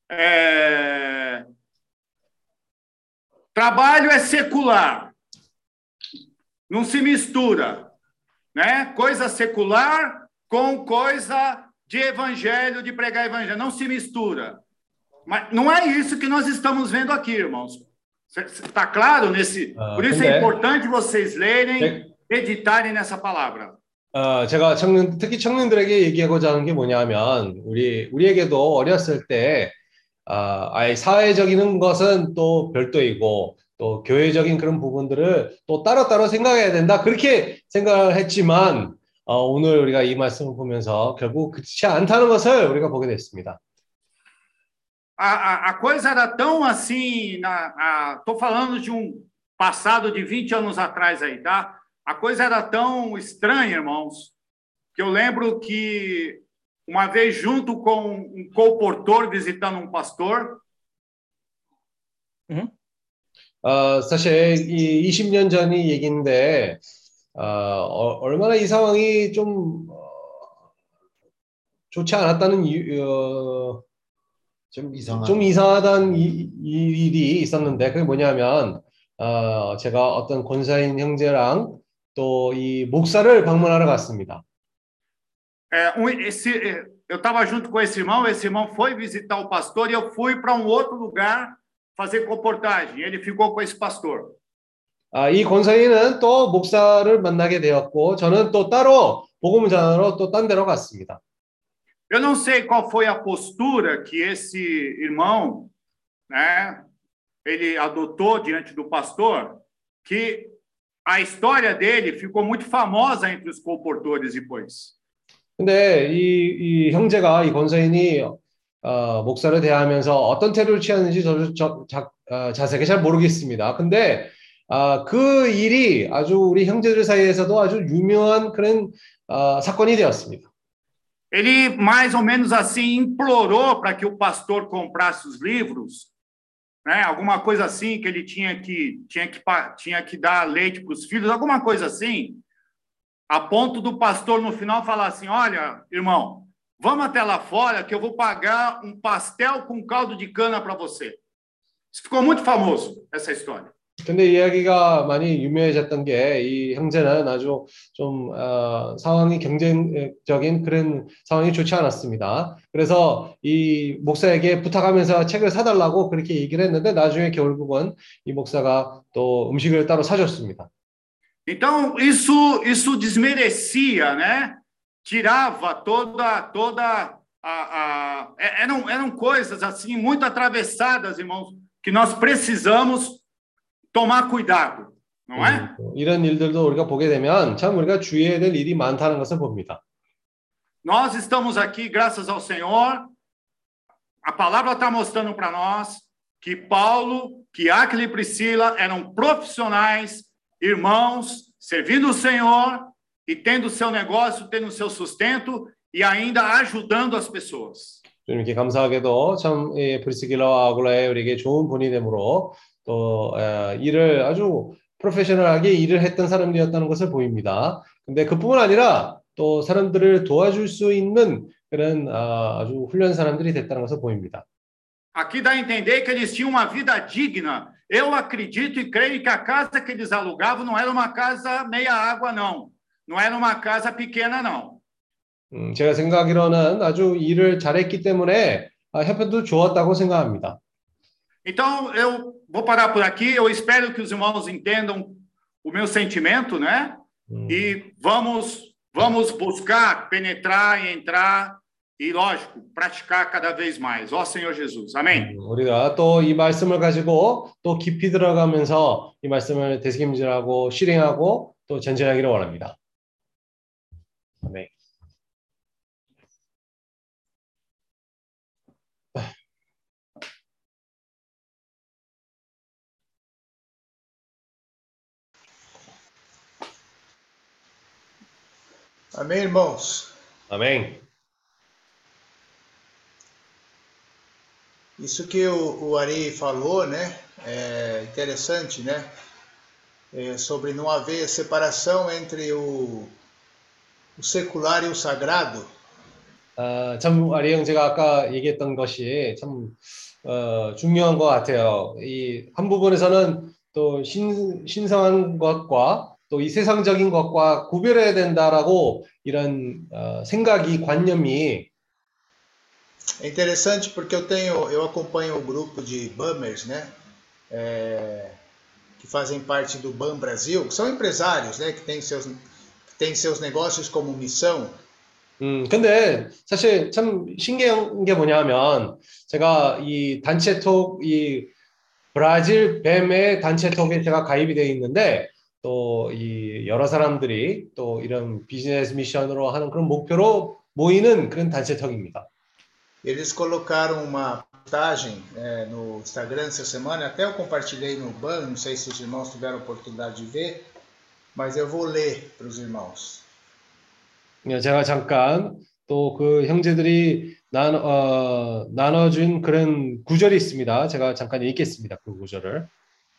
trabalho é secular, não se mistura, né? Coisa secular com coisa de evangelho, de pregar evangelho, não se mistura. Mas não é isso que nós estamos vendo aqui, irmãos. Está claro nesse? Por isso é importante vocês lerem, meditarem nessa palavra. 제가 특히 청년들에게 얘기하고자 하는 게 뭐냐면 우리에게도 어렸을 때 아예 사회적인 것은 또 별도이고 또 교회적인 그런 부분들을 또 따로따로 생각해야 된다 그렇게 생각을 했지만 오늘 우리가 이 말씀을 보면서 결국 그렇지 않다는 것을 우리가 보게 됐습니다. A coisa era tão assim, tô falando de passado de 20 anos atrás aí, tá? A coisa era tão estranha, irmãos, que eu lembro que uma vez junto com um colportor visitando um pastor, 사실 이 20년 전이 얘기인데 얼마나 이 상황이 좀 좋지 않았다는 좀 이상하다는 일이 있었는데 그게 뭐냐면 제가 어떤 권사인 형제랑 또 이 목사를 방문하러 갔습니다. eu estava junto com esse irmão foi visitar o pastor e eu fui para outro lugar fazer comportagem. Ele ficou com esse pastor. 이 권사인은 또 목사를 만나게 되었고 저는 또 따로 복음을 전하러 또 딴 데로 갔습니다. Eu não sei qual foi a postura que esse irmão, né, ele adotou diante do pastor, que a história dele ficou muito famosa entre os colportores depois. 근데 이 형제가 이 권사인이 목사를 대하면서 어떤 태도를 취하는지 저도 자세하게 잘 모르겠습니다. 근데 그 일이 아주 우리 형제들 사이에서도 아주 유명한 그런 사건이 되었습니다. Ele mais ou menos assim implorou para que o pastor comprasse os livros, né? Alguma coisa assim que ele tinha que dar leite para os filhos, alguma coisa assim, a ponto do pastor no final falar assim: olha, irmão, vamos até lá fora que eu vou pagar um pastel com caldo de cana para você. Isso ficou muito famoso, essa história. 근데 이야기가 많이 유명해졌던 게 이 형제는 아주 좀 상황이 경쟁적인 그런 상황이 좋지 않았습니다. 그래서 이 목사에게 부탁하면서 책을 사달라고 그렇게 얘기를 했는데 나중에 결국은 이 목사가 또 음식을 따로 사줬습니다. Então isso desmerecia, né? Tirava toda eram coisas assim muito atravessadas, irmãos, que nós precisamos tomar cuidado, não é? 이런 일들도 우리가 보게 되면 참 우리가 주의해야 될 일이 많다는 것을 봅니다. Nós estamos aqui, graças ao Senhor. A palavra está mostrando para nós que Paulo, que Áquila e Priscila eram profissionais, irmãos, servindo o Senhor e tendo seu negócio, tendo seu sustento e ainda ajudando as pessoas. 이렇게 감사하게도 참 프리스길라와 아굴라에 우리에게 좋은 분이 되므로 또 일을 아주 프로페셔널하게 일을 했던 사람들이었다는 것을 보입니다. 근데 그뿐만 아니라 또 사람들을 도와줄 수 있는 그런 아주 훌륭한 사람들이 됐다는 것을 보입니다. Aqui dá a entender que eles tinham uma vida digna. Eu acredito e creio que a casa que eles alugavam não era uma casa meia água, não. Não era uma casa pequena, não. 제가 생각하기로는 아주 일을 잘했기 때문에 형편도 좋았다고 생각합니다. Então, eu vou parar por aqui. Eu espero que os irmãos entendam o meu sentimento, né? E vamos buscar penetrar e entrar e, lógico, praticar cada vez mais. Ó Senhor Jesus. Amém. 우리가 또 이 말씀을 가지고 또 깊이 들어가면서 이 말씀을 되새김질하고 실행하고 또 전진하기를 원합니다. 아멘. Amém, irmãos? 아멘. Isso que o Ari falou, né? É interessante, né? Sobre não haver separação entre o secular e o sagrado. 참 아리 형제가 아까 얘기했던 것이 참 중요한 것 같아요. 이 한 부분에서는 또 신성한 것과 또 이 세상적인 것과 구별해야 된다라고 이런 생각이 관념이 É interessante porque eu acompanho o grupo de BAMers, né? Que fazem parte do BAM Brasil, que são empresários, né? Que têm seus negócios como missão. 근데 사실 참 신기한 게 뭐냐면 제가 이 단체톡 이 브라질 뱀의 단체톡에 제가 가입이 되어 있는데 또 이 여러 사람들이 또 이런 비즈니스 미션으로 하는 그런 목표로 모이는 그런 단체턱입니다. Eles colocaram uma postagem no Instagram essa semana, até eu compartilhei no ban, não sei se os irmãos tiveram oportunidade de ver, mas eu vou ler para os irmãos. 제가 잠깐 또 그 형제들이 나눠준 그런 구절이 있습니다. 제가 잠깐 읽겠습니다. 그 구절을.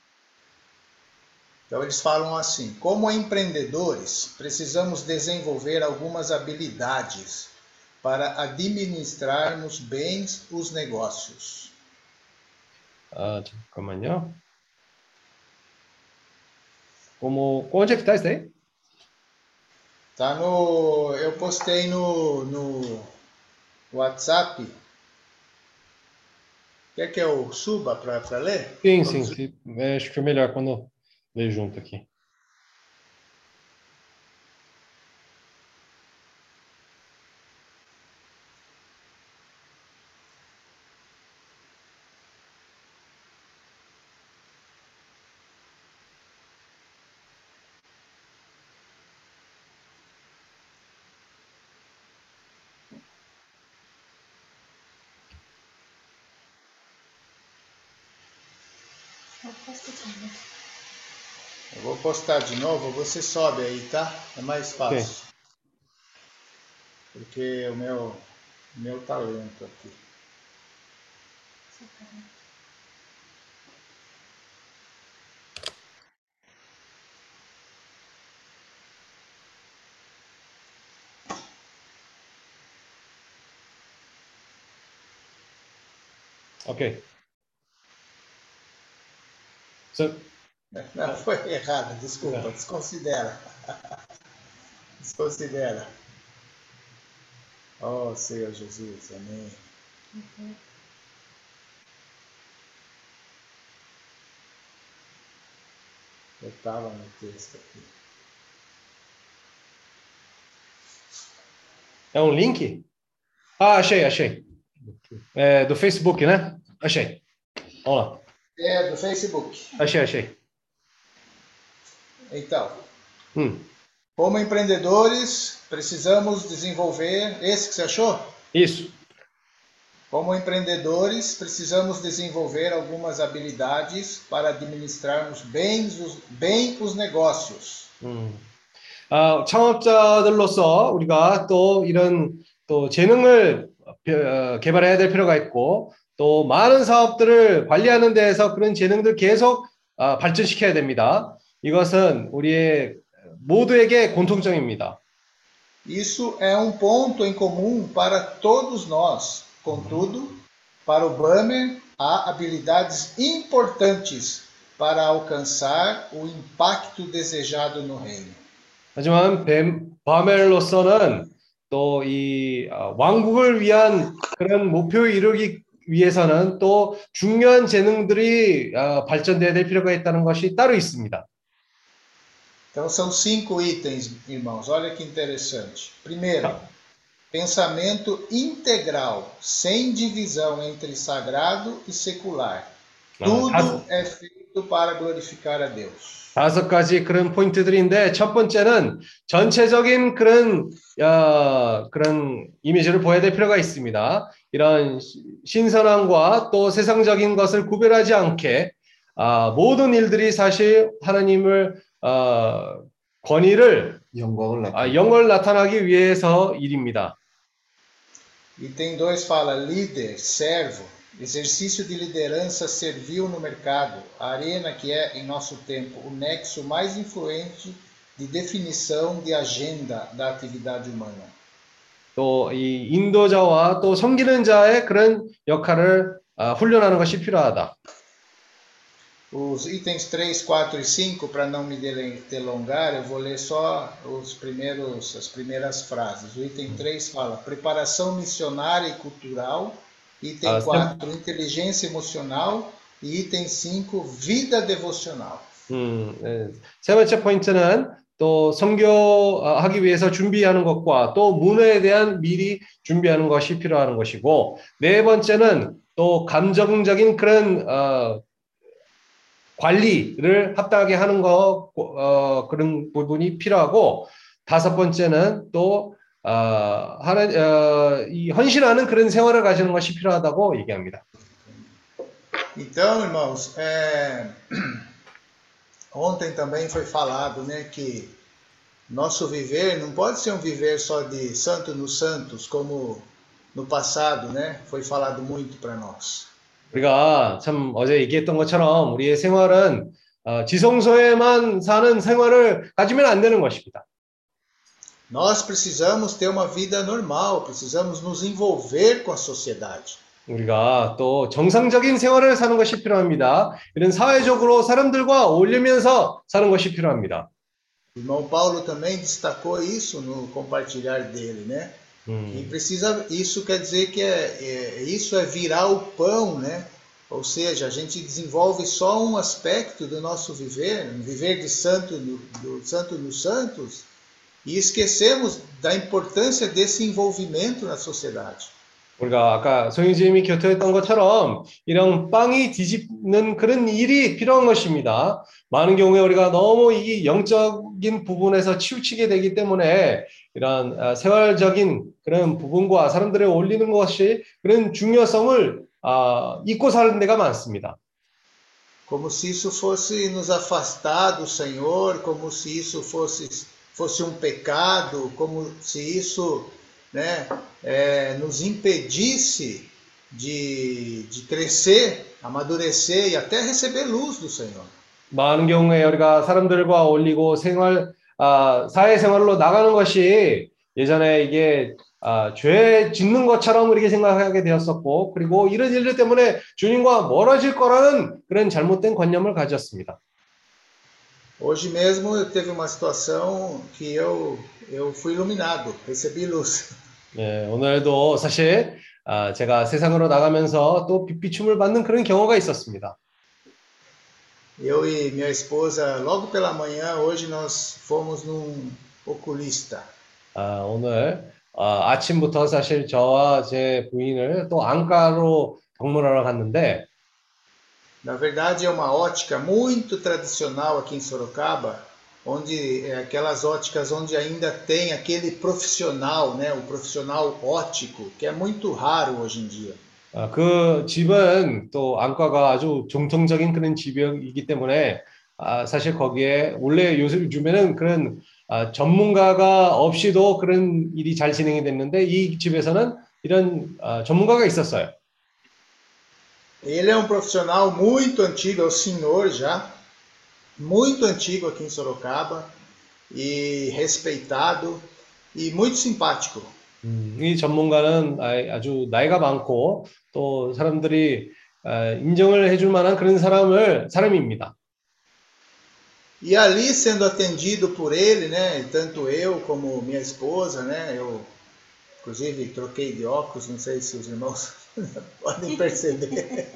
Então eles falam assim: como empreendedores, precisamos desenvolver algumas habilidades para administrarmos bem os negócios. 잠깐만요. Onde é que está isso aí? Tá no, eu postei no WhatsApp. Quer que eu suba para ler? Sim. Acho que é melhor quando ler junto aqui. Eu vou postar de novo, você sobe aí, tá? É mais fácil. Okay. Porque o meu tá lento aqui. Ok. So, Não, foi errado, desculpa, Não. desconsidera. Desconsidera. Oh, Senhor Jesus, amém. Eu estava no texto aqui. é um link? Achei. É do Facebook, né? Achei. Vamos lá. É do Facebook. Achei. Então, como empreendedores, precisamos desenvolver... Esse que você achou? Isso. Como empreendedores, precisamos desenvolver algumas habilidades para administrarmos bem os negócios. 창업자들로서 우리가 또 이런 또 재능을 개발해야 될 필요가 있고 또 많은 사업들을 관리하는 데에서 그런 재능들 계속 발전시켜야 됩니다. 이것은 우리의 모두에게 공통점입니다. Isso é ponto em comum para todos nós. Contudo, para o Bamer, há habilidades importantes para alcançar o impacto desejado no reino. 하지만 바멜로서는 또 이 왕국을 위한 그런 목표에 이르기 위해서는 또 중요한 재능들이 발전돼야 될 필요가 있다는 것이 따로 있습니다. Então são 5 itens, irmãos. Olha que interessante. Primeiro, pensamento integral, sem divisão entre sagrado e secular. Tudo é feito para glorificar a Deus. 5가지 그런 포인트들인데 첫 번째는 전체적인 그런 이미지를 보여야 될 필요가 있습니다. 이런 신선함과 또 세상적인 것을 구별하지 않게 모든 일들이 사실 하나님을 권위를 영광을 나타나기 위해서 일입니다. Item 2 fala líder, servo, exercício de liderança servil no mercado, a arena que é, em nosso tempo, o nexo mais influente de definição de agenda da atividade humana. 또 이 인도자와 또 섬기는 자의 그런 역할을 훈련하는 것이 필요하다. Os itens 3, 4 e 5, para não me delongar, eu vou ler só as primeiras frases. O item 3 fala preparação missionária e cultural. Item 4, inteligência emocional. E item 5, vida devocional. 세 번째 포인트는 또 선교하기 위해서 준비하는 것과 또 문화에 대한 미리 준비하는 것이 필요한 것이고 네 번째는 또 감정적인 그런 관리를 합당하게 하는 그런 부분이 필요하고, 다섯 번째는 또 이 헌신하는 그런 생활을 가지는 것이 필요하다고 얘기합니다. Então, irmãos, ontem também foi falado, né, que nosso viver não pode ser um viver só de santo nos santos, como no passado, né, foi falado muito para nós. 우리가 참 어제 얘기했던 것처럼 우리의 생활은 지성소에만 사는 생활을 가지면 안 되는 것입니다. Nós precisamos ter uma vida normal, precisamos nos envolver com a sociedade. 우리가 또 정상적인 생활을 사는 것이 필요합니다. 이런 사회적으로 사람들과 어울리면서 사는 것이 필요합니다. O irmão Paulo também destacou isso no compartilhar dele, né? E precisa, isso quer dizer que isso é virar o pão, né? Ou seja, a gente desenvolve só um aspecto do nosso viver, um viver de santo, do santo nos santos, e esquecemos da importância desse envolvimento na sociedade. 우리가 아까 송희지님이 교토했던 것처럼 이런 빵이 뒤집는 그런 일이 필요한 것입니다. 많은 경우에 우리가 너무 이 영적인 부분에서 치우치게 되기 때문에 이런 생활적인 그런 부분과 사람들을 어울리는 것이 그런 중요성을 잊고 사는 데가 많습니다. Como se isso fosse nos afastar do Senhor, como se isso fosse um pecado, como se isso, né, nos impedisse de crescer, amadurecer e até receber luz do Senhor. 많은 경우에 우리가 사람들과 어울리고 사회생활로 나가는 것이 예전에 이게 죄 짓는 것처럼 우리가 생각하게 되었었고, 그리고 이런 일들 때문에 주님과 멀어질 거라는 그런 잘못된 관념을 가졌습니다. Hoje mesmo eu teve uma situação que eu fui iluminado, recebi luz. 네, 오늘도 사실 제가 세상으로 나가면서 또 빛비춤을 받는 그런 경우가 있었습니다. Eu e minha esposa, logo pela manhã, hoje nós fomos num oculista. 오늘 아침부터 사실 저와 제 부인을 또 안과로 방문하러 갔는데, Na verdade é uma ótica muito tradicional aqui em Sorocaba, onde aquelas óticas onde ainda tem aquele profissional, né, o profissional ótico, que é muito raro hoje em dia. 그 집은 또 안과가 아주 정통적인 그런 집이기 때문에 사실 거기에 원래 요즘에는 그런 전문가가 없이도 그런 일이 잘 진행이 됐는데 이 집에서는 이런 전문가가 있었어요. Ele é um profissional muito antigo, é o senhor já, muito antigo aqui em Sorocaba, e respeitado e muito simpático. 이 전문가는 아주 나이가 많고 또 사람들이 인정을 해줄 만한 그런 사람입니다. E ali sendo atendido por ele, né, tanto eu como minha esposa, né, eu inclusive troquei de óculos, não sei se os irmãos podem perceber.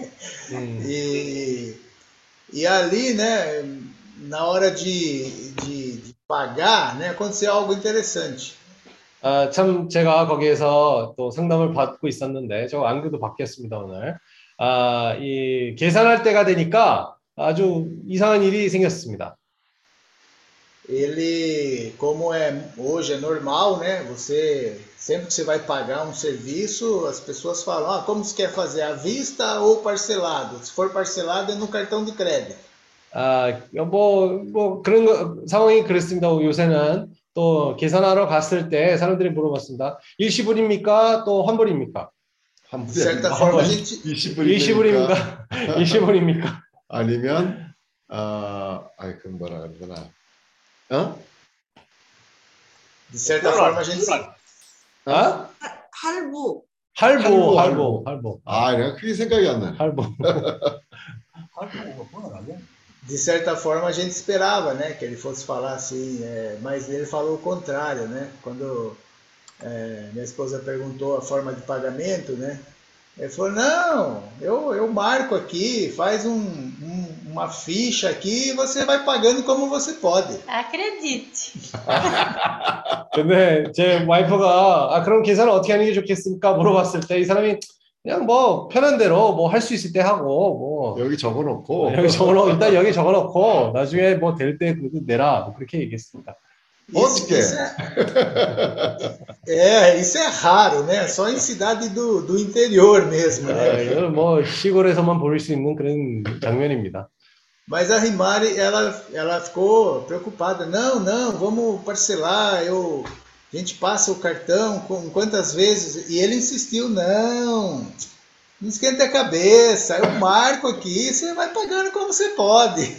E ali, né, na hora de pagar, né, aconteceu algo interessante. 참 제가 거기에서 또 상담을 받고 있었는데 저 안경도 바뀌었습니다 오늘. 이 계산할 때가 되니까 아주 이상한 일이 생겼습니다. Ele, como hoje é normal, né? Sempre que você vai pagar um serviço, as pessoas falam, como você quer fazer, à vista ou parcelado? Se for parcelado, é no cartão de crédito. 뭐 그런 상황이 그렇습니다. 요새는 또 계산하러 갔을 때 사람들이 물어봤습니다. 일시불입니까? 또 환불입니까? De certa forma, a gente... 일시불입니까? 일시불입니까? 아니면 그 뭐라 그러나? De certa forma, a gente... 할부. 내가 그게 생각이 안 나. 할부. De certa forma, a gente esperava, né, que ele fosse falar assim, mas ele falou o contrário, né? Quando minha esposa perguntou a forma de pagamento, né? Ele falou, não, eu marco aqui, faz uma ficha aqui e você vai pagando como você pode. Acredite. 근데 제 와이프가 그럼 계산을 어떻게 하는 게 좋겠습니까? 물어봤을 때 이 사람이 그냥 뭐 편한 대로 뭐 할 수 있을 때 하고 뭐 여기 적어놓고 여기 적어놓고 일단 여기 적어놓고 나중에 뭐 될 때 내라 뭐 그렇게 얘기했습니다. 어떻게? Isso é raro, né? Só em cidade do interior mesmo, né? 이건 뭐 시골에서만 볼 수 있는 그런 장면입니다. Mas a Rimari, ela ficou preocupada. Não, vamos parcelar. A gente passa o cartão com quantas vezes? E ele insistiu, não esquenta a cabeça. Eu marco aqui, você vai pagando como você pode.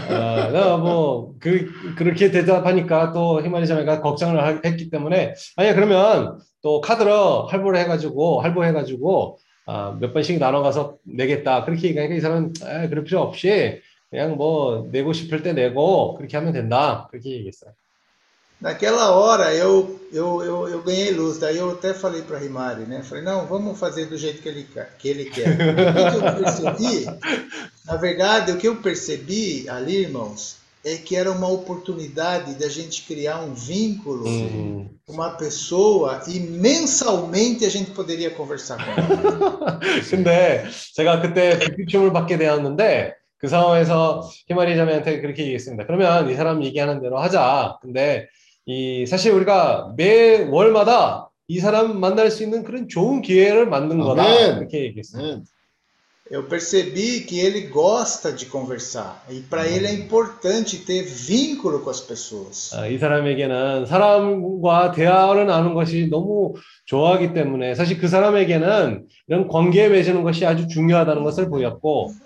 그렇게 대답하니까 또 히마리자매가 걱정을 했기 때문에 아니 그러면 또 카드로 할부해가지고 몇 번씩 나눠가서 내겠다 그렇게 얘기하니까 이 사람은 그럴 필요 없이 그냥 뭐 내고 싶을 때 내고 그렇게 하면 된다 그렇게 얘기했어요. Naquela hora eu ganhei luz, daí eu até falei para Rimari, né? Falei, não, vamos fazer do jeito que ele quer. Na verdade, o que eu percebi ali, irmãos, é que era uma oportunidade da gente criar um vínculo com uma pessoa e mensalmente a gente poderia conversar com ela. 근데 제가 그때 불빛춤을 받게 되었는데 그 상황에서 히마리 자매한테 그렇게 얘기했습니다. 그러면 이 사람 얘기하는 대로 하자. 근데 사실 우리가 매 월마다 이 사람 만날 수 있는 그런 좋은 기회를 만든 거다. 그렇게 얘기했습니다. Eu percebi que ele gosta de conversar e para ele é importante ter vínculo com as pessoas. 이 사람에게는 사람과 대화를 나누는 것이 너무 좋아하기 때문에 사실 그 사람에게는 이런 관계 맺는 것이 아주 중요하다는 것을 보였고.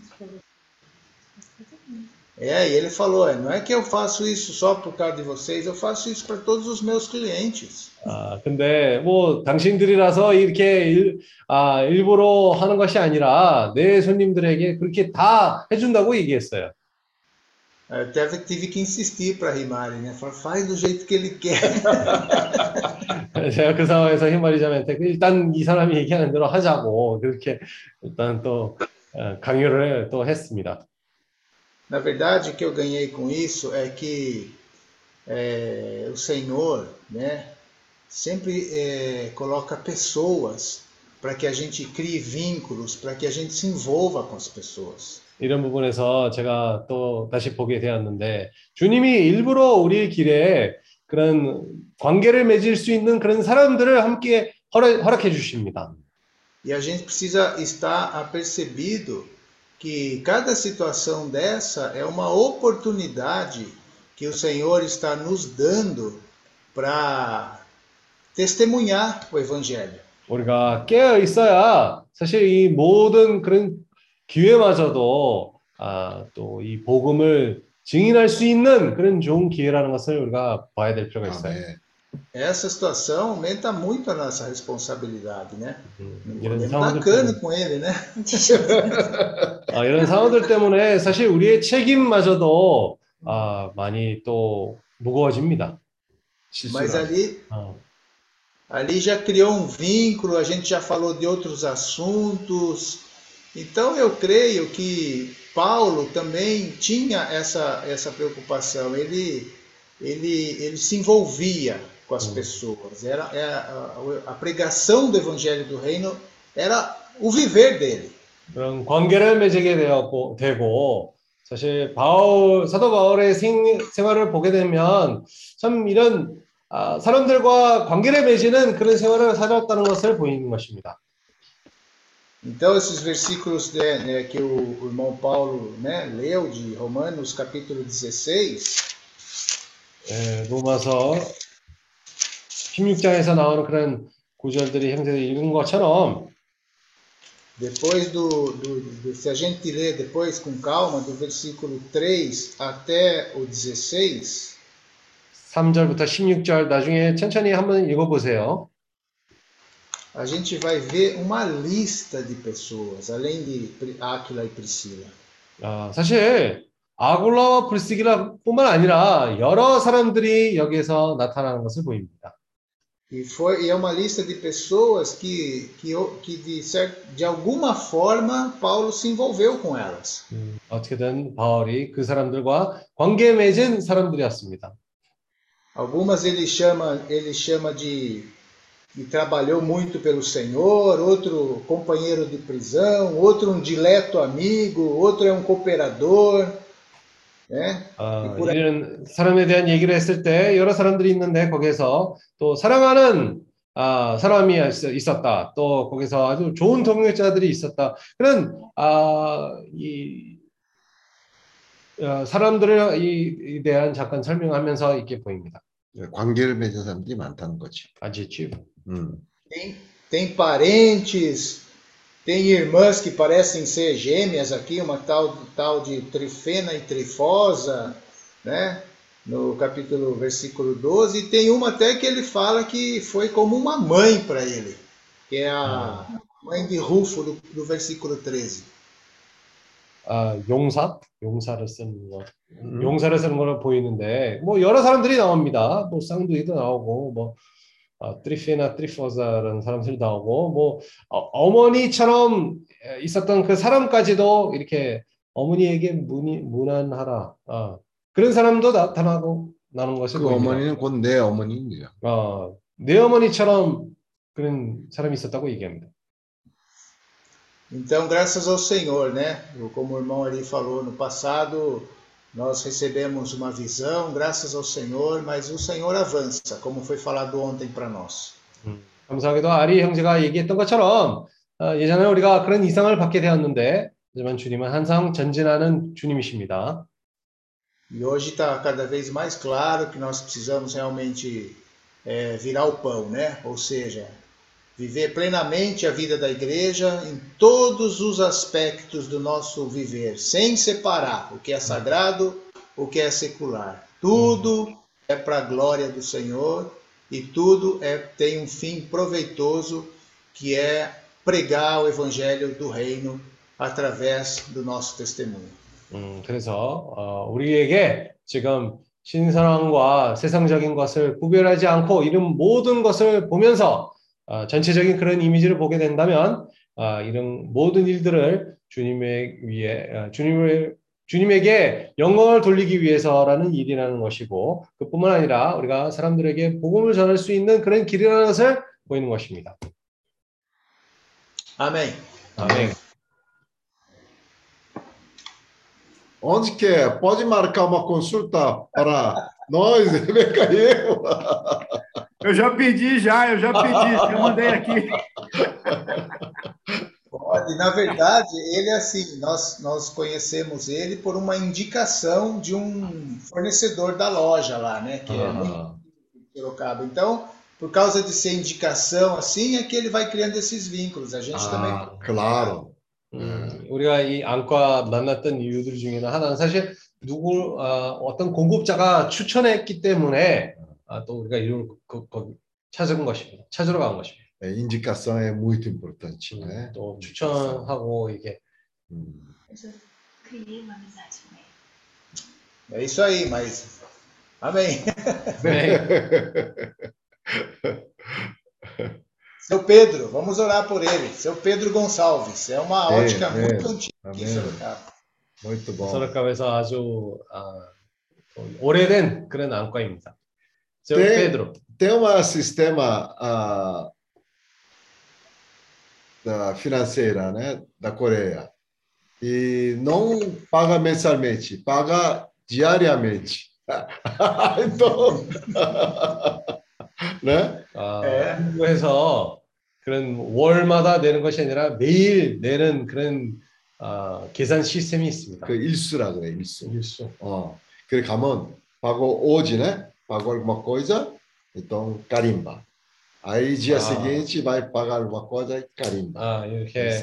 E ele falou, não é que eu faço isso só por causa de vocês, eu faço isso para todos os meus clientes. 근데 뭐 당신들이라서 이렇게 일부러 하는 것이 아니라 내 손님들에게 그렇게 다 해준다고 얘기했어요. Eu tive que insistir para Rimari, né? Falar, faz do jeito que ele quer. 제가 그 상황에서 히마리자매한테 일단 이 사람이 얘기하는 대로 하자고 그렇게 일단 또 강요를 또 했습니다. Na verdade, o que eu ganhei com isso é que o Senhor, né, sempre coloca pessoas para que a gente crie vínculos, para que a gente se envolva com as pessoas. 이런 부분에서 제가 또 다시 보게 되었는데 주님이 일부러 우리 길에 그런 관계를 맺을 수 있는 그런 사람들을 함께 허락해 주십니다. E a gente precisa estar apercebido que cada situação dessa é uma oportunidade que o Senhor está nos dando para testemunhar o Evangelho. 우리가 깨어 있어야 사실 이 모든 그런 기회마저도 또 이 복음을 증인할 수 있는 그런 좋은 기회라는 것을 우리가 봐야 될 필요가 있어요. Essa situação aumenta muito a nossa responsabilidade, né? 이런 bacana com ele, né? 이런 상황들 때문에 사실 우리의 책임마저도 많이 또 무거워집니다. Mas ali já criou um vínculo, a gente já falou de outros assuntos. Então eu creio que Paulo também tinha essa preocupação. Ele se envolvia com as pessoas. A pregação do Evangelho do Reino era o viver dele. 그런 관계를 맺게 되고 사실 사도 바울의 생활을 보게 되면 참 이런 사람들과 관계를 맺는 그런 생활을 살았다는 것을 보이는 것입니다. Então esses versículos que o irmão Paulo leu de Romanos capítulo 16 로마서 16장에서 나오는 그런 구절들이 형제들이 읽은 것처럼 depois se a gente ler depois com calma do versículo 3 até o 16 3절부터 16절 나중에 천천히 한번 읽어보세요. A gente vai ver uma lista de pessoas além de Áquila e Priscila. 사실 아굴라와 브리스길라뿐만 아니라 여러 사람들이 여기에서 나타나는 것을 보입니다. E é uma lista de pessoas que de alguma forma Paulo se envolveu com elas. 어떻게든 바울이 그 사람들과 관계 맺은 사람들이었습니다. Algumas ele chama de e trabalhou muito pelo Senhor, outro companheiro de prisão, outro um dileto amigo, outro é um cooperador, né? E por aí. 이런 사람에 대한 얘기를 했을 때 여러 사람들이 있는데 거기에서 또 사랑하는 사람이 있었다. 또 거기서 아주 좋은 동역자들이 있었다. 그런 사람들에 대한 잠깐 설명하면서 이렇게 보입니다. 관계를 맺은 사람들이 많다는 거지. adjetivo. Tem parentes, tem irmãs que parecem ser gêmeas aqui, uma tal de Trifena e Trifosa, né? No capítulo, versículo 12, e tem uma até que ele fala que foi como uma mãe para ele, que é a mãe de Rufo, do versículo 13. 용사를 쓰는 거. 용사를 쓰는 거로 보이는데 뭐 여러 사람들이 나옵니다. 뭐 쌍둥이도 나오고 뭐 트리페나 트리포사라는 사람들이 나오고 뭐 어머니처럼 있었던 그 사람까지도 이렇게 어머니에게 무난하라. 그런 사람도 나타나고 나는 것을 그 보입니다. 어머니는 곧 내 어머니입니다. 내 어머니처럼 그런 사람이 있었다고 얘기합니다. Então, graças ao Senhor, né? Como o irmão ali falou no passado, nós recebemos uma visão, graças ao Senhor, mas o Senhor avança, como foi falado ontem para nós. 감사하게도 아리 형제가 얘기했던 것처럼 예전에 우리가 그런 이상을 받게 되었는데 하지만 주님은 항상 전진하는 주님이십니다. E hoje está cada vez mais claro que nós precisamos realmente virar o pão, né? Ou seja, viver plenamente a vida da igreja em todos os aspectos do nosso viver, sem separar o que é sagrado, o que é secular. Tudo é para a glória do Senhor e tudo tem um fim proveitoso, que é pregar o evangelho do reino através do nosso testemunho. 그래서 우리에게 지금 신선함과 세상적인 것을 구별하지 않고 이런 모든 것을 보면서 전체적인 그런 이미지를 보게 된다면 이런 모든 일들을 주님에게 영광을 돌리기 위해서라는 일이라는 것이고 그뿐만 아니라 우리가 사람들에게 복음을 전할 수 있는 그런 길이라는 것을 보이는 것입니다. Amém. 아멘. Onde que é? Pode marcar uma consulta para nós, Rebeca e eu. Eu já pedi, já mandei aqui. Pode, na verdade, ele é assim, nós conhecemos ele por uma indicação de um fornecedor da loja lá, né? Que é muito Sorocaba. Então, por causa de ser indicação assim, é que ele vai criando esses vínculos. A gente também. Claro. 우리가 이 안과 만났던 이유들 중에는 하나는 사실 어떤 공급자가 추천했기 때문에 또 우리가 이걸 찾은 것입니다. 찾으러 간 것입니다. Indicação é muito importante, né? 또 추천하고 이게. É isso aí, mas amém. Seu Pedro, vamos orar por ele. Seu Pedro Gonçalves. É uma ótica muito antiga aqui em Sorocaba. Muito bom. 소라카베에서 아주 오래된 그런 안과입니다. Seu Pedro. Tem um sistema financeira, né, da Coreia. E não paga mensalmente, paga diariamente. Então, né? 한국에서 그런 월마다 내는 것이 아니라 매일 내는 그런 계산 시스템이 있습니다. 그 일수라 그래, 일수. 일수. 그래 가면 pago hoje, né? Pago alguma coisa, então carimba. Aí dia seguinte vai pagar alguma coisa e carimba. 이렇게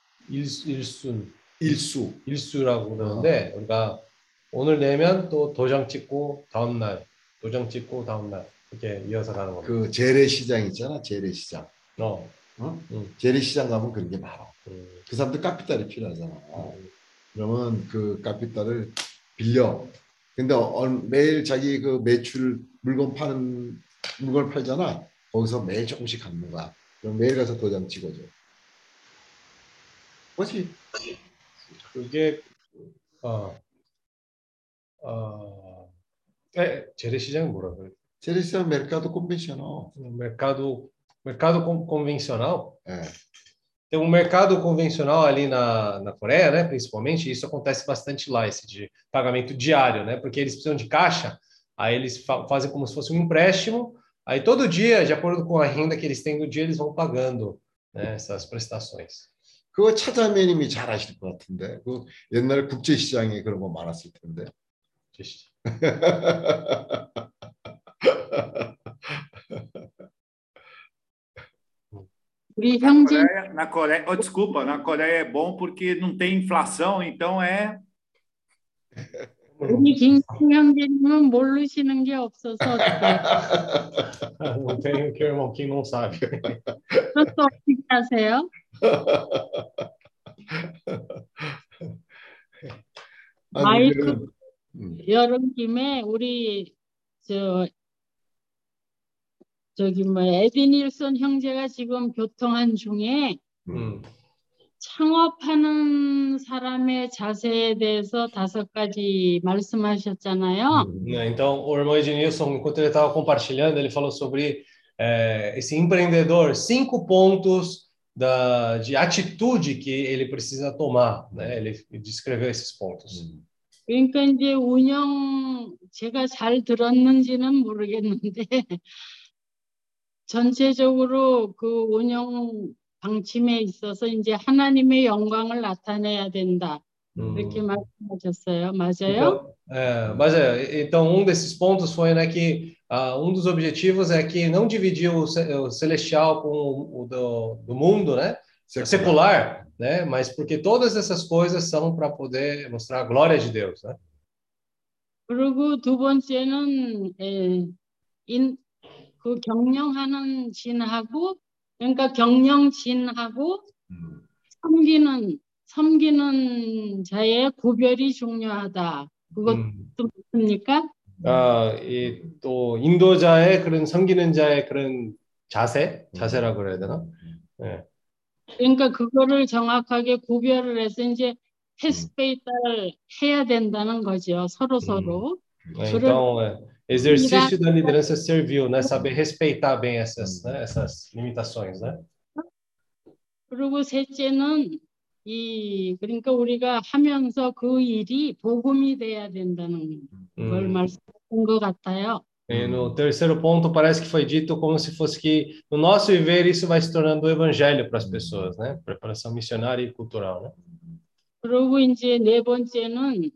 일수라고 그러는데 우리가 오늘 내면 또 도장 찍고 다음 날, 도장 찍고 다음 날 이렇게 이어서 가는 겁니다. 그 재래시장 있잖아, 재래시장. 재래시장 가면 그런 게 많아. 그 사람들 카피탈이 필요하잖아. 그러면 그 카피탈을 빌려. 근데 매일 자기 그 매출 물건 팔잖아. 거기서 매일 조금씩 갚는 거야. 그럼 매일 가서 도장 찍어줘. 뭐지? 그게 재래시장은 뭐라 그래? 재래시장 mercado convencional. mercado Mercado convencional? 예. Tem um mercado convencional ali na Coreia, né? Principalmente, isso acontece bastante lá, esse de pagamento diário, né? Porque eles precisam de caixa, aí eles fazem como se fosse um empréstimo, aí todo dia, de acordo com a renda que eles têm no dia, eles vão pagando, né, essas prestações. 그거 차자매님이 잘 아실 것 같은데. 그 옛날 국제시장에 그런 거 많았을 텐데. 우리 형제 Desculpa, na Coreia é bom porque não tem inflação, então é. 우리 김 형제님은 모르시는 게 없어서 어떡해. Não tem o que o irmão Kim não sabe. 그것도 어떻게 하세요? 마이크 여름 김에 우리 저기 뭐 에디닐슨 형제가 지금 교통한 중에 창업하는 사람의 자세에 대해서 5가지 말씀하셨잖아요. Então, o irmão Ednilson, enquanto ele estava compartilhando, ele falou sobre esse empreendedor, 5 pontos de atitude que ele precisa tomar, né? Ele descreveu esses pontos. 그러니까 이제 제가 잘 들었는지는 모르겠는데 전체적으로 그 운영 방침에 있어서 이제 하나님의 영광을 나타내야 된다. 이렇게 말씀하셨어요. 맞아요? Então, 맞아요. Então, um desses pontos foi, né, que um dos objetivos é que não dividir o celestial com o do mundo, né? Secular, né? Mas porque todas essas coisas são para poder mostrar a glória de Deus, né? 그리고 두 번째는 그 경영하는 진하고 그러니까 경영진하고 섬기는 자의 구별이 중요하다. 그것도 맞습니까? 이 또 인도자의 그런 섬기는 자의 그런 자세라고 그래야 되나? 네. 그러니까 그거를 정확하게 구별을 해서 이제 respeitar 해야 된다는 거죠. 서로. Então, exercício da liderança servil, né? Saber respeitar bem essas limitações, né? 그리고 셋째는 그러니까 우리가 하면서 그 일이 복음이 돼야 된다는 걸 말씀하신 것 같아요. E no terceiro ponto parece que foi dito como se fosse que no nosso viver isso vai se tornando o evangelho para as pessoas, né? Preparação missionária e cultural, né? 그리고 이제 네 번째는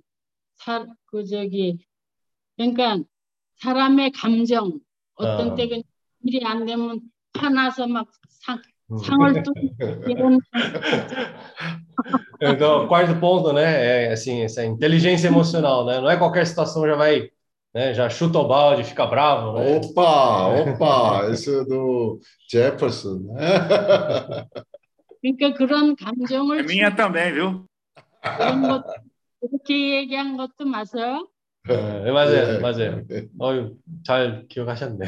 그러니까 사람의 감정 어떤 때 일이 안 되면 화나서 막 상을 이런. Então, o quarto ponto, né, é assim, essa inteligência emocional, né? Não é qualquer situação já vai, né, já chuta o balde, fica bravo, né? 오빠, isso do Jefferson. 그러니까 그런 감정을 minha também, viu? 그런 것 그렇게 얘기한 것도 맞아요? 맞아요. 잘 기억하셨네요.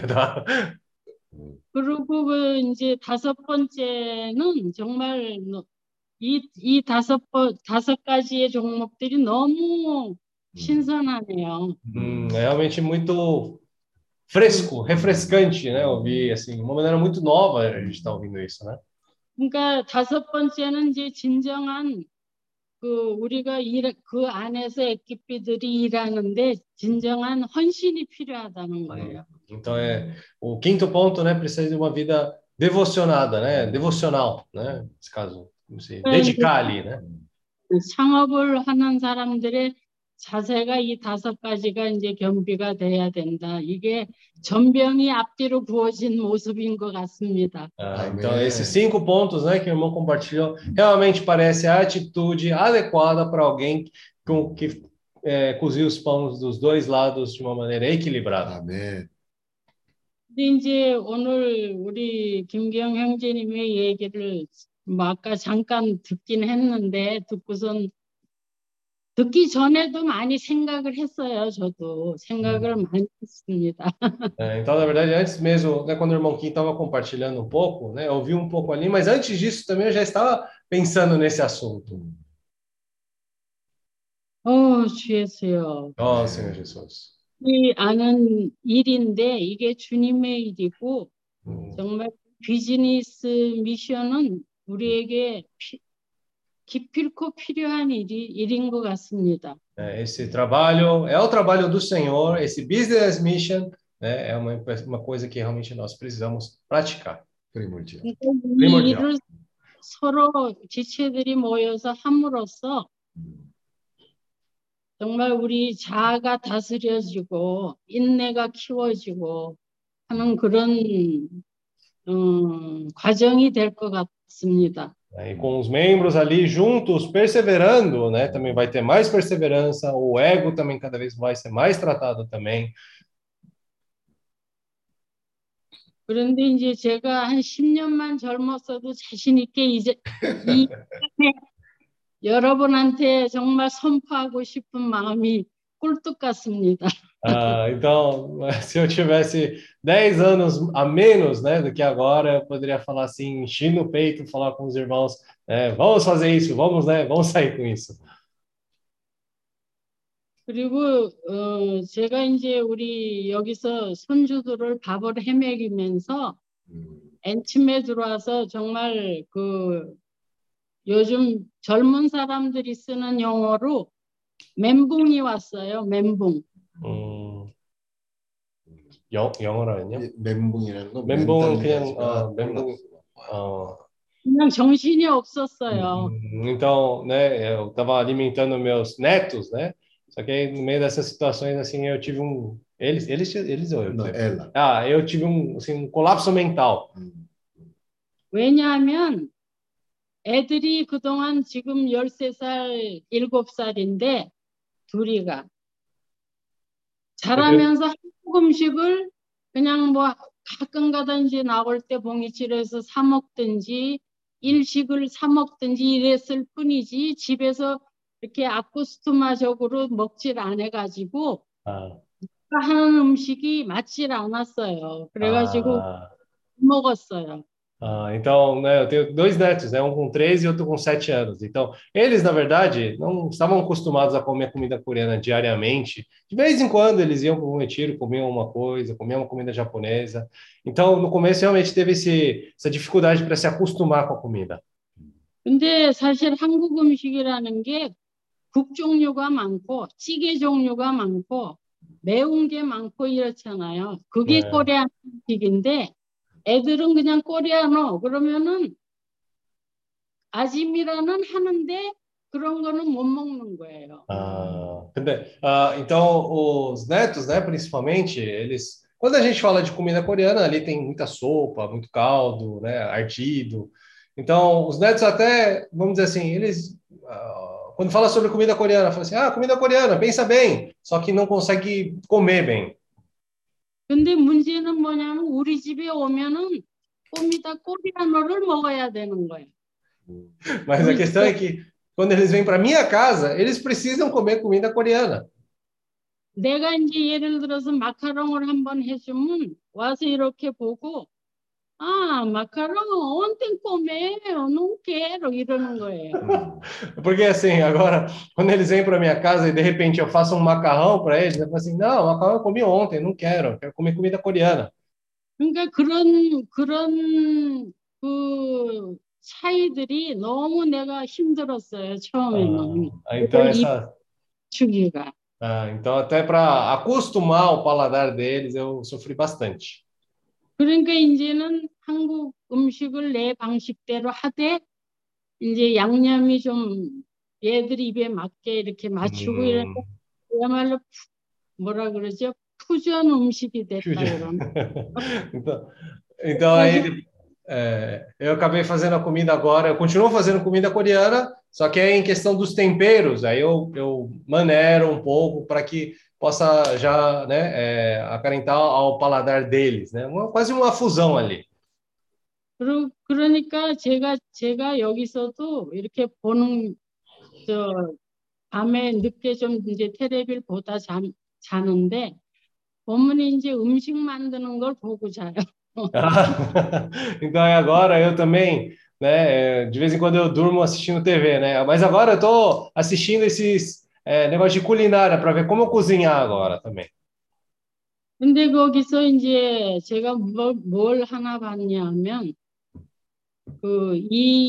그리고 이제 5번째는 정말 이 5가지의 종목들이 너무 신선하네요. Realmente muito fresco, refrescante, né? Ouvir assim, uma maneira muito nova a gente está ouvindo isso, né? 그러니까 5번째는 이제 진정한 우리가 그 안에서 에quipe들이 일하는데 진정한 헌신이 필요하다는 거예요. Então o quinto ponto, né? Precisa de uma vida devocionada, né? Devocional, né? Nesse caso, se dedicar ali, né? 창업을 하는 사람들의 자세가 이 5가지가 i제 겸비가 돼야 된다. 이게 전병이 앞뒤로 부어진 모습인 것 같습니다. Então, esses 5 pontos, né, que o irmão compartilhou, realmente parece a atitude adequada para alguém que cozinha os pães dos dois lados de uma maneira equilibrada. 아멘. 근데 이제 오늘 우리 김경 형제님의 얘기를 아까 잠깐 듣긴 했는데 듣기 전에도 많이 생각을 했어요. 저도 생각을 많이 했습니다. Então, na verdade, antes mesmo, né, quando o irmão Kim estava compartilhando um pouco, né, eu ouvi um pouco ali, mas antes disso também eu já estava pensando nesse assunto. 주 예수요. Senhor Jesus. 이 아는 일인데 이게 주님의 일이고 정말 비즈니스 미션은 우리에게 기필코 필요한 일인 것 같습니다. Esse trabalho é o trabalho do Senhor, esse business mission, né, é uma coisa que realmente nós precisamos praticar. Primordial. 이 Primordial. 일을 서로 지체들이 모여서 함으로써 정말 우리 자아가 다스려지고 인내가 키워지고 하는 그런 과정이 될 것 같습니다. E com os membros ali juntos, perseverando, né, também vai ter mais perseverança, o ego também cada vez vai ser mais tratado também. 그런데 이제 제가 한 10년만 젊었어도 자신 있게 이제 이 여러분한테 정말 선포하고 싶은 마음이 꿀뚝 같습니다. Então, se eu tivesse 10 anos a menos, né, do que agora, eu poderia falar assim, encher no peito, falar com os irmãos, vamos fazer isso, vamos, né, vamos sair com isso. 그리고 제가 이제 우리 여기서 손주들을 밥을 헤매기면서 엔침에 들어와서 정말 그 요즘 젊은 사람들이 쓰는 용어로 멘붕이 왔어요. 멘붕. 영어라는요? 멘붕이라는 건 멘붕은 그냥 멘붕 그냥 정신이 없었어요. Então, né, eu estava alimentando meus netos, né? Só que aí, no meio dessas situações assim, eu tive eles ou eu? Não, ela. Eu tive um colapso mental. 왜냐하면 애들이 그동안 지금 13살, 7살인데 둘이가 자라면서 한국 음식을 그냥 뭐 가끔가다 이제 나올 때 봉이치에서 사 먹든지 일식을 사 먹든지 이랬을 뿐이지 집에서 이렇게 아쿠스토마적으로 먹질 않아가지고 하는 음식이 맞질 않았어요. 그래가지고 먹었어요. Então, né, eu tenho 2 netos, né, um com 13 e outro com 7 anos. Então, eles, na verdade, não estavam acostumados a comer comida coreana diariamente. De vez em quando, eles iam para um retiro, comiam uma coisa, comiam uma comida japonesa. Então, no começo, realmente teve essa dificuldade para se acostumar com a comida. 근데 사실 한국 음식이라는 게 국 종류가 많고 찌개 종류가 많고 매운 게 많고 이렇잖아요. 그게 코리안 음식인데 애들은 그냥 코리아노 그러면은 아짐이라는 하는데 그런 거는 못 먹는 거예요. Então os netos, né, principalmente, eles, quando a gente fala de comida coreana, ali tem muita sopa, muito caldo, né, ardido. Então os netos até, vamos dizer assim, eles quando fala sobre comida coreana, fala assim, comida coreana, pensa bem, só que não consegue comer bem. 근데 문제는 뭐냐면 우리 집에 오면은 꼼이다 코리아노를 먹어야 되는 거예요. Mas a questão é que quando eles vêm para minha casa, eles precisam comer comida coreana. 내가 이제 예를 들어서 마카롱을 한번 해주면 와서 이렇게 보고 macarrão, ontem comeu, não quero, 이러는 거예요. Porque assim, agora, quando eles vêm para minha casa e de repente eu faço um macarrão para eles, eu falo assim, não, macarrão eu comi ontem, não quero comer comida coreana. 그러니까 그런 그 차이들이 너무 내가 힘들었어요, 처음에는. Então 주기가. Então até para acostumar o paladar deles, eu sofri bastante. 그러니까 이제는 한국 음식을 내 방식대로 하되 이제 양념이 좀 얘들 입에 맞게 이렇게 맞추고 이래서 그야말로 뭐라 그러죠? 퓨전 음식이 됐다 이런. Então aí eu acabei fazendo a comida agora, eu continuo fazendo comida coreana, só que aí em questão dos temperos, aí eu maneiro um pouco para que possa já, né, aparentar ao paladar deles, né? Quase uma fusão ali. 그러니까 제가 여기서도 이렇게 보는 밤에 늦게 좀 이제 텔레비를 보다 자는데 보면 이제 음식 만드는 걸 보고 자요. Então agora eu também, né, de vez em quando eu durmo assistindo TV, né? Mas agora eu tô assistindo esses negócio de culinária para ver como eu cozinhar agora também. 근데 거기서 이제 제가 뭘 하나 봤냐면 그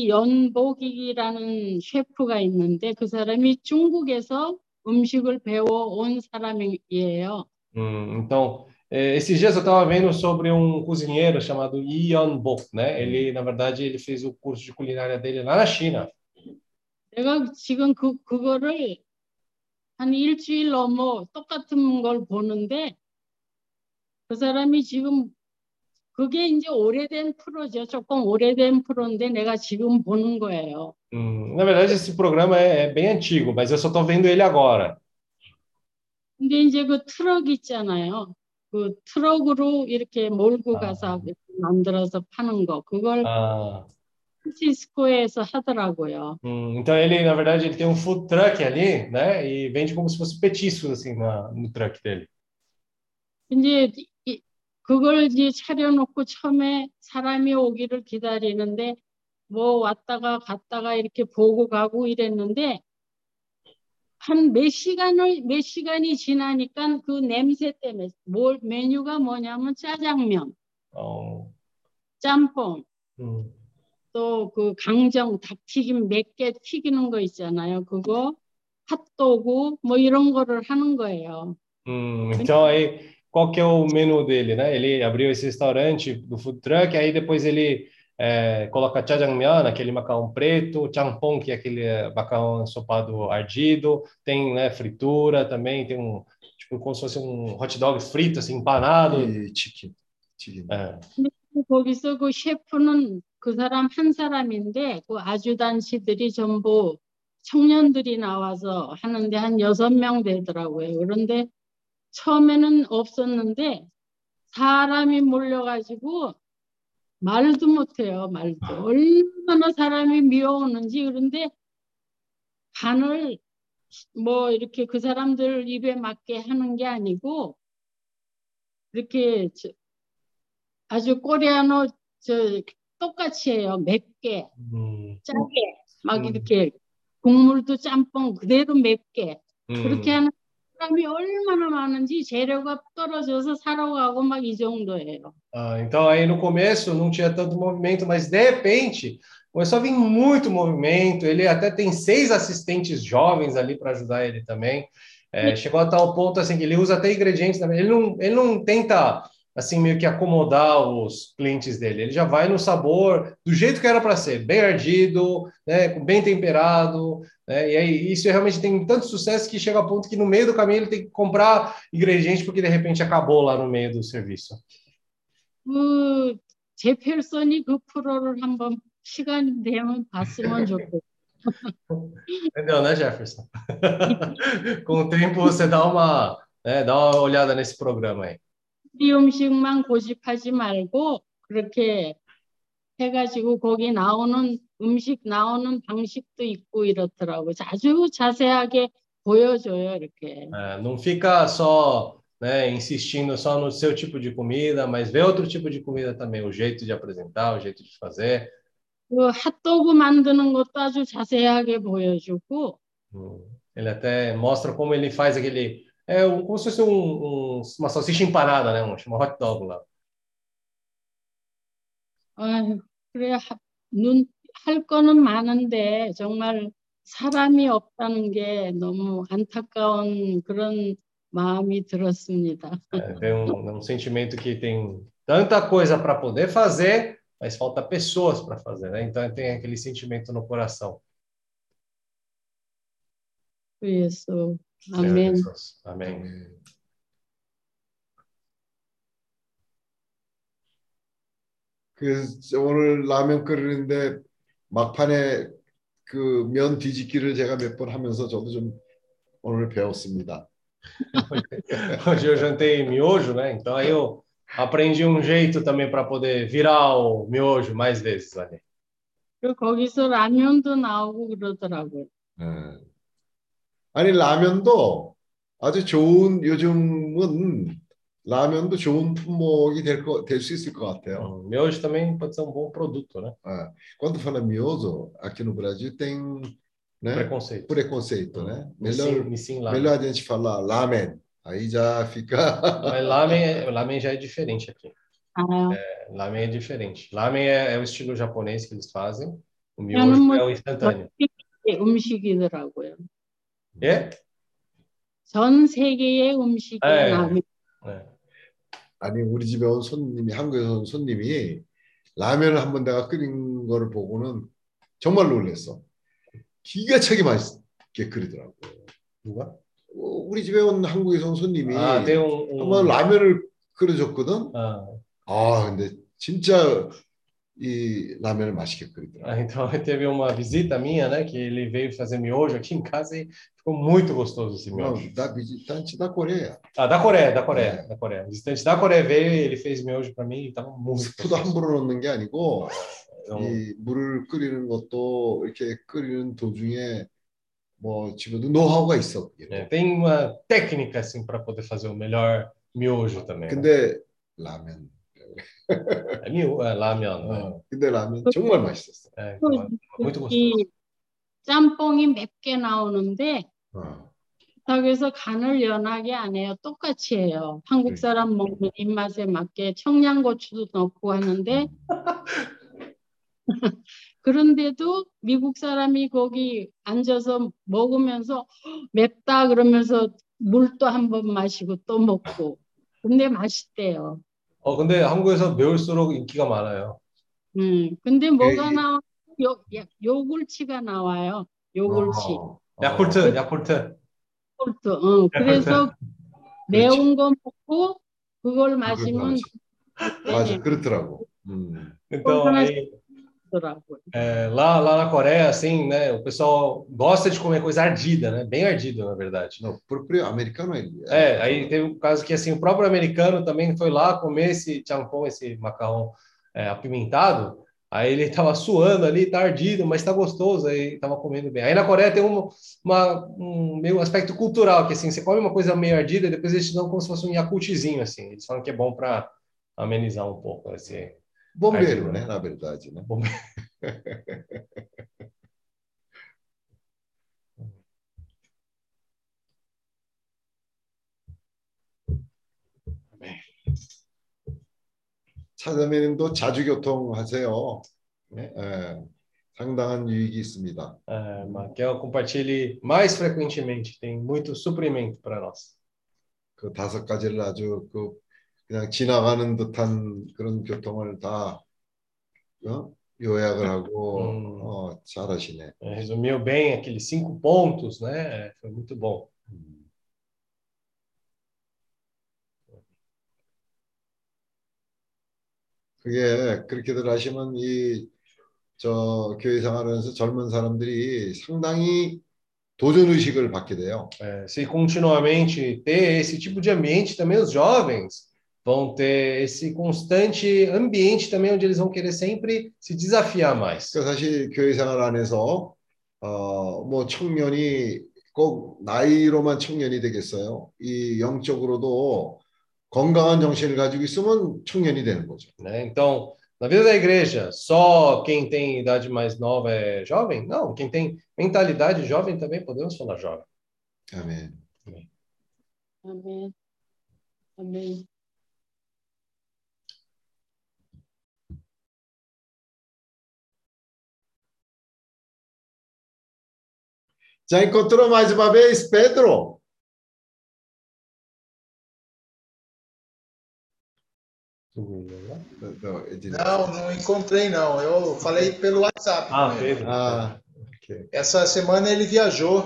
이연복이라는 셰프가 있는데 그 사람이 중국에서 음식을 배워온 사람이에요. Então, esses dias eu estava vendo sobre um cozinheiro chamado Yi Yan-bok, né? Ele, na verdade, ele fez o curso de culinária dele lá na China. 내가 지금 그거를 한 일주일 넘어 똑같은 걸 보는데 그 사람이 지금 그게 이제 오래된 프로죠. 조금 오래된 프로인데 내가 지금 보는 거예요. Na verdade, esse programa é bem antigo, mas eu só estou vendo ele agora. 근데 이제 그 트럭 있잖아요. 그 트럭으로 이렇게 몰고 가서 이렇게 만들어서 파는 거. 그걸 프란시스코에서 하더라고요. Então ele, na verdade, ele tem um food truck ali, né? E vende como se fosse petiscos assim no truck dele. 이제 그걸 이제 차려놓고 처음에 사람이 오기를 기다리는데 뭐 왔다가 갔다가 이렇게 보고 가고 이랬는데 한 몇 시간이 지나니까 그 냄새 때문에 메뉴가 뭐냐면 짜장면, 짬뽕, 또 그 강정 닭튀김 몇 개 튀기는 거 있잖아요. 그거 핫도그 뭐 이런 거를 하는 거예요. Então aí qual que é o menu dele, né? Ele abriu esse restaurante do food truck, aí depois ele coloca jjajangmyeon, aquele macarrão preto, champong, que é aquele macarrão ensopado ardido, tem, né, fritura também, tem um tipo como se fosse um hot dog frito assim, empanado. E chicken. 거기서 그 셰프는 그 사람 한 사람인데 그 아주단시들이 전부 청년들이 나와서 하는데 한 6명 되더라고요. 그런데 처음에는 없었는데 사람이 몰려가지고 말도 못해요. 말도. 얼마나 사람이 미워오는지. 그런데 간을 뭐 이렇게 그 사람들 입에 맞게 하는 게 아니고 이렇게 아주 코리아노 똑같이 해요. 맵게, 짜게, 막 이렇게 국물도 짬뽕 그대로 맵게. 그렇게 하는 사람이 얼마나 많은지 재료가 떨어져서 사러 가고 막 이 정도예요. Então aí no começo não tinha tanto movimento, mas de repente começou a vir muito movimento. Ele até tem 6 assistentes jovens ali para ajudar ele também. Chegou a tal ponto assim que ele usa até ingredientes também. Ele não tenta assim meio que acomodar os clientes dele. Ele já vai no sabor do jeito que era para ser, bem ardido, né, bem temperado, né? E aí isso realmente tem tanto sucesso que chega a ponto que no meio do caminho ele tem que comprar ingredientes porque de repente acabou lá no meio do serviço. 제펠선이 그 프로를 한번 시간이 되면 봤으면 좋겠어요. Entendeu, né, Jefferson? Com o tempo você dá uma olhada nesse programa aí. 이 음식만 고집하지 말고 그렇게 해가지고 거기 나오는 음식 나오는 방식도 있고 이렇더라고. 아주 자세하게 보여줘요, 이렇게. Não fica só, né, insistindo só no seu tipo de comida, mas vê outro tipo de comida também, o jeito de apresentar, o jeito de fazer. 그 핫도그 만드는 것도 아주 자세하게 보여주고. Ele até mostra como ele faz aquele como se fosse uma salsicha empanada, né? Chama hot dog lá. 그래 할 거는 많은데 정말 사람이 없다는 게 너무 안타까운 그런 마음이 들었습니다. Tem um sentimento que tem tanta coisa para poder fazer, mas falta pessoas para fazer, né? Então tem aquele sentimento no coração. 예수, 아멘. 아멘. 오늘 라면 끓이는데 막판에 그 면 뒤집기를 제가 몇 번 하면서 저도 좀 오늘 배웠습니다. Hoje eu jantei miojo, né? Então aí eu aprendi um jeito também para poder virar o miojo mais vezes ali. 그리고 거기서 라면도 나오고 그러더라고요. 아니 라면도 아주 좋은 요즘은 라면도 좋은 품목이 될 수 있을 것 같아요. Miojo também pode ser um bom produto, né? Quando fala miojo, aqui no Brasil tem, né, preconceito, né? Melhor a gente falar lamen. Aí já fica. Mas lamen já é diferente aqui. Lamen é diferente. Lamen é o estilo japonês que eles fazem. O miojo é o instantâneo. 음식이더라고요. É? 전 세계의 음식이 라면. 아니 우리 집에 온 손님이 한국에서 온 손님이 라면을 한번 내가 끓인 거를 보고는 정말 놀랐어. 기가 차게 맛있게 끓이더라고. 누가? 우리 집에 온 한국에서 온 손님이 한번 라면을 끓여줬거든. 근데 진짜 이 라면을 맛있게 끓이더라고. Então teve uma visita minha, né, que ele veio fazer miojo aqui em casa e ficou muito gostoso esse miojo. Da visitante da Coreia. Da Coreia. O visitante da Coreia veio e ele fez miojo para mim e estava muito 스프도 함부로 넣는 게 아니고 이 물을 끓이는 것도 이렇게 끓이는 도중에 뭐 집에도 노하우가 있어. Tem uma técnica assim para poder fazer o melhor miojo também. 근데 라면. 라면. 근데 라면 정말 맛있었어. muito gostoso. 짬뽕이 맵게 나오는데 그래서 간을 연하게 안 해요. 똑같이 해요. 한국 사람 먹는 입맛에 맞게 청양고추도 넣고 하는데 그런데도 미국 사람이 거기 앉아서 먹으면서 맵다 그러면서 물도 한번 마시고 또 먹고 근데 맛있대요. 근데 한국에서 매울수록 인기가 많아요. 근데 뭐가 나와? 요굴치가 나와요. 요굴치. 야쿠르트. 그래서 매운 거 먹고 그걸 마시면 맞아, 그렇더라고. Então aí lá na Coreia, assim, né, o pessoal gosta de comer coisa ardida, né, bem ardida, na verdade. Não, próprio americano aí teve um caso que assim o próprio americano também foi lá comer esse champon, esse macarrão apimentado. Aí ele estava suando ali, tá ardido, mas tá gostoso, aí estava comendo bem. Aí na Coreia tem um meio aspecto cultural, que assim, você come uma coisa meio ardida, e depois eles te dão como se fosse um yakultzinho, assim. Eles falam que é bom para amenizar um pouco esse bombeiro, né? Na verdade, né? 차자매님도 자주 교통하세요. 상당한 유익이 있습니다. Que eu compartilhe mais frequentemente. Tem muito suprimento para nós. 그 5가지를 아주 그냥 지나가는 듯한 그런 교통을 다 요약을 하고 잘하시네. Resumiu bem aqueles 5 pontos, né? Foi muito bom. 그게 그렇게들 하시면 교회 생활하면서 젊은 사람들이 상당히 도전 의식을 받게 돼요. Se continuamente ter esse tipo de ambiente, também os jovens vão ter esse constante ambiente também onde eles vão querer sempre se desafiar mais. 사실 교회 생활 안에서 뭐 청년이 꼭 나이로만 청년이 되겠어요. 이 영적으로도 건강한 정신을 가지고 있으면 청년이 되는 거죠. Então, na vida da igreja, só quem tem idade mais nova é jovem? Não, quem tem mentalidade jovem também podemos falar jovem. 아멘. 아멘. 아멘. Já encontrou mais uma vez, Pedro? Não encontrei não. Eu falei pelo WhatsApp. Pedro. Okay. Essa semana ele viajou.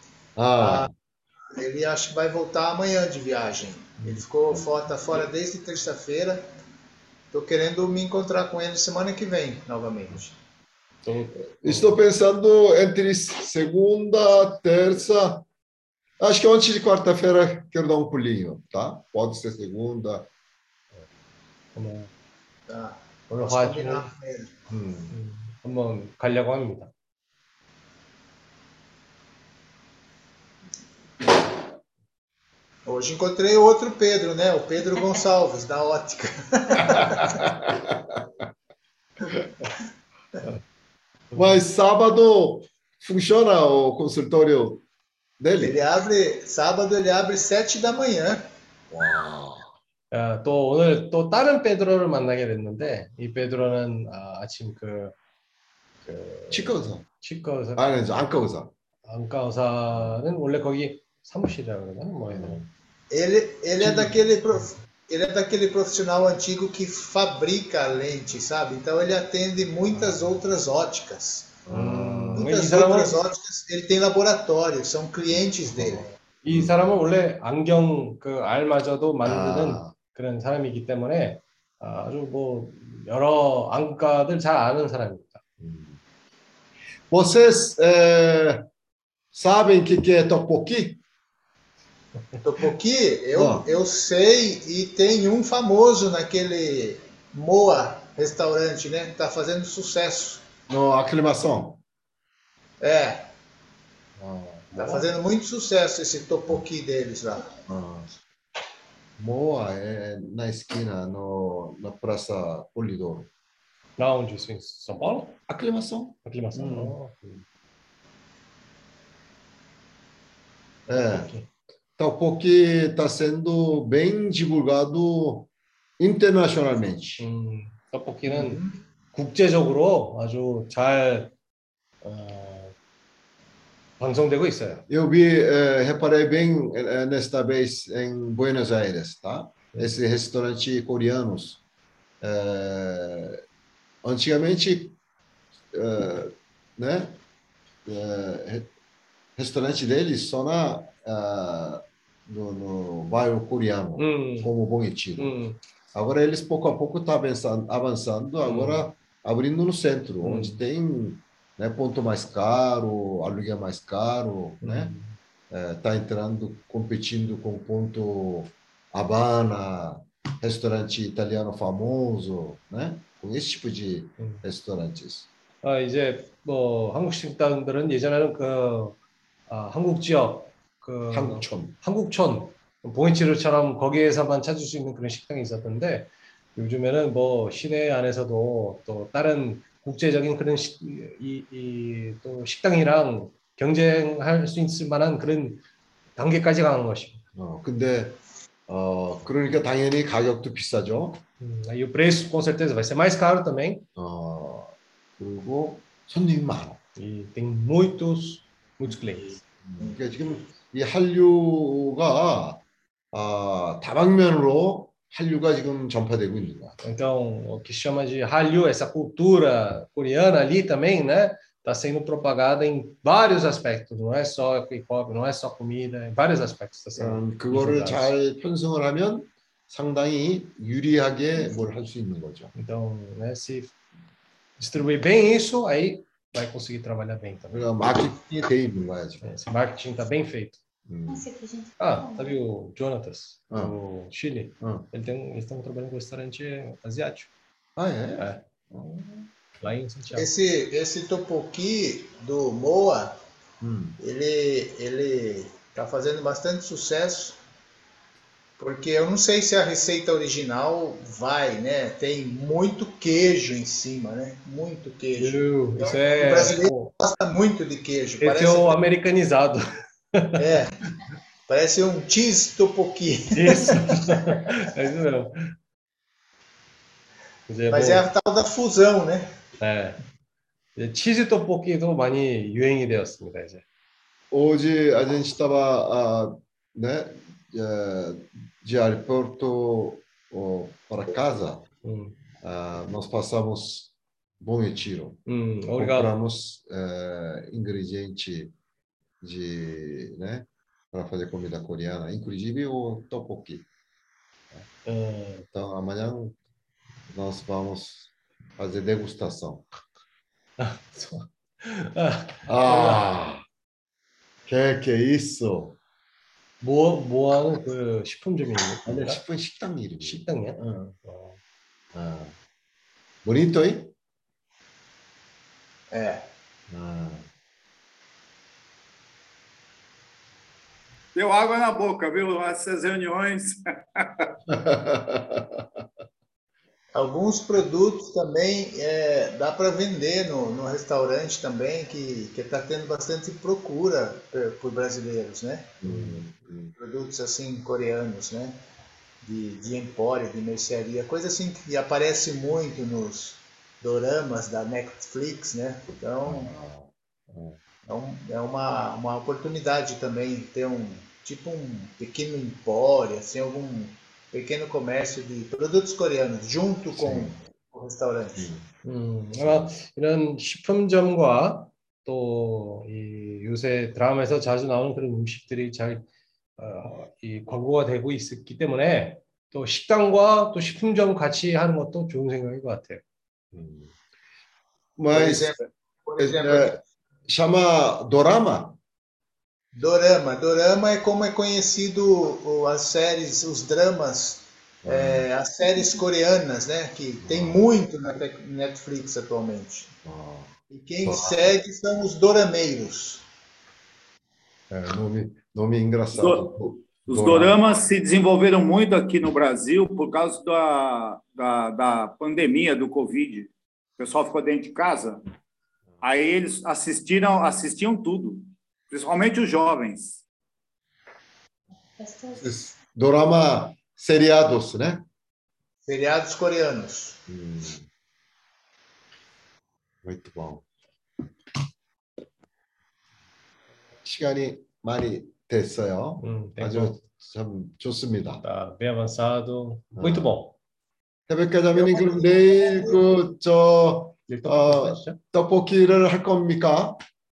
Ele acho que vai voltar amanhã de viagem. Ele tá fora desde terça-feira. Estou querendo me encontrar com ele semana que vem, novamente. Estou pensando entre segunda, terça. Acho que antes de quarta-feira quero dar um pulinho, tá? Pode ser segunda. Tá. 한번 가려고 합니다. Hoje encontrei outro Pedro, né? O Pedro Gonçalves, da ótica. Mas sábado funciona o consultório dele. Sábado ele abre 7 da manhã. 와. 또 오늘 또 다른 베드로를 만나게 됐는데 이 베드로는 아침 치과 의사. 치과 의사, 아니, 안과 의사. 안과 의사는 원래 거기 사무실이라고 그러나 뭐 해야 되나? Ele é daquele profissional antigo que fabrica a lente, sabe? Então ele atende muitas outras óticas. Muitas outras óticas, ele tem laboratório, são clientes dele. 이 사람은 원래 안경 그 알마저도 만드는 그런 사람이기 때문에 아주 뭐 여러 안과들 잘 아는 사람입니다. Vocês sabem o que é tteokbokki? Tteokbokki, eu sei, e tem um famoso naquele Moa restaurante, né? Tá fazendo sucesso. No aclimação. É. Tá fazendo muito sucesso esse tteokbokki deles lá. Moa é na esquina, na Praça Polidoro. Na onde isso? Em São Paulo? Aclimação. Aclimação. Tteokbokki está sendo bem divulgado internacionalmente. 떡볶이는 국제적으로 아주 잘 방송되고 있어요. Eu reparei bem nesta vez em Buenos Aires, tá? Esse restaurante coreanos. Antigamente, né? Restaurante deles só no bairro coreano, como Bom Retiro. Agora eles pouco a pouco estão avançando, agora abrindo no centro, onde tem, né, ponto mais caro, aluguel mais caro, né? Está entrando, competindo com ponto Habana, restaurante italiano famoso, né? Com esse tipo de restaurantes. 이제 뭐 한국 식당들은 예전에는 한국 지역 한국촌 봉이치르처럼 거기에서만 찾을 수 있는 그런 식당이 있었던데 요즘에는 뭐 시내 안에서도 또 다른 국제적인 그런 또 식당이랑 경쟁할 수 있을 만한 그런 단계까지 가는 것입니다. 근데 그러니까 당연히 가격도 비싸죠. E o preço com certeza vai ser mais caro também. 그리고 손님이 많아. E tem muitos clientes. 그러니까 지금 이 한류가 다방면으로 한류가 지금 전파되고 있는 거야. Então, o que chama de Hallyu, essa cultura coreana ali também, né, está sendo propagada em vários aspectos. Não é só K-pop, não é só comida, em vários aspectos está sendo. 그거를 잘 편성을 하면 상당히 유리하게 뭘 할 수 있는 거죠. Então, né, se distribuir bem isso, aí vai conseguir trabalhar bem também. 그러니까 마케팅이 돼 있는 거야 지금. Esse marketing está bem feito. Sabe o Jonatas, do Chile? Eles estão trabalhando com restaurante asiático. É? Lá em Santiago. Esse tteokbokki do Moa, ele está fazendo bastante sucesso, porque eu não sei se a receita original vai, né? Tem muito queijo em cima, né? Muito queijo. Então, o brasileiro gosta muito de queijo. Esse é o americanizado. Parece um cheese tteokbokki. Isso. É isso mesmo. Mas é a tal da fusão, né? 치즈 떡볶이도 많이 유행이 되었습니다, 이제. Hoje a gente estava, né, de aeroporto para casa, nós passamos Bom Retiro. Compramos ingrediente né, para fazer comida coreana, inclusive o tteokbokki. Então amanhã nós vamos fazer degustação. Que é isso? 뭐 하는 그 식품점이 있는 아니, 식당 이름. 식당이야? Bonito, hein? Deu água na boca, viu? Essas reuniões. Alguns produtos também dá para vender no restaurante também, que está tendo bastante procura por brasileiros, né? Produtos assim coreanos, né? De empório, de mercearia, coisa assim que aparece muito nos doramas da Netflix, né? Então é uma oportunidade também ter tipo um pequeno empório, assim, algum pequeno comércio de produtos coreanos junto com o restaurante. 아마 이런 식품점과 또 이 요새 드라마에서 자주 나오는 그런 음식들이 이 광고가 되고 있기 때문에 또 식당과 또 식품점 같이 하는 것도 좋은 생각인 것 같아요. Mas Por exemplo, chama dorama. Dorama é como é conhecido as séries, os dramas, as séries coreanas, né? Que tem muito na Netflix atualmente. E quem segue são os dorameiros. Nome engraçado. Os doramas se desenvolveram muito aqui no Brasil por causa da pandemia do Covid. O pessoal ficou dentro de casa, aí eles assistiam tudo, principalmente os jovens. Dorama seriados, né? Seriados coreanos. Muito bom. 시간이 많이 됐어요. 아주 참 좋습니다. Tá bem avançado, muito bom. 태백회장님 그럼 내일 떡볶이를 할 겁니까?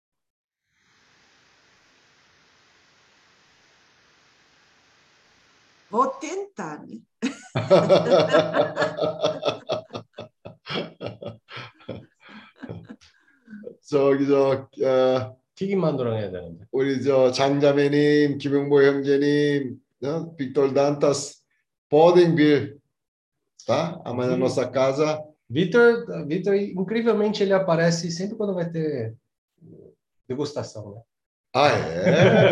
Vou tentar. 튀김 만두랑 해야 되는데. 우리 장자매님, 김용보 형제님, Victor Dantas, podem vir, tá? Amanhã na nossa casa. Vitor, incrivelmente, ele aparece sempre quando vai ter degustação, né? Ah, é?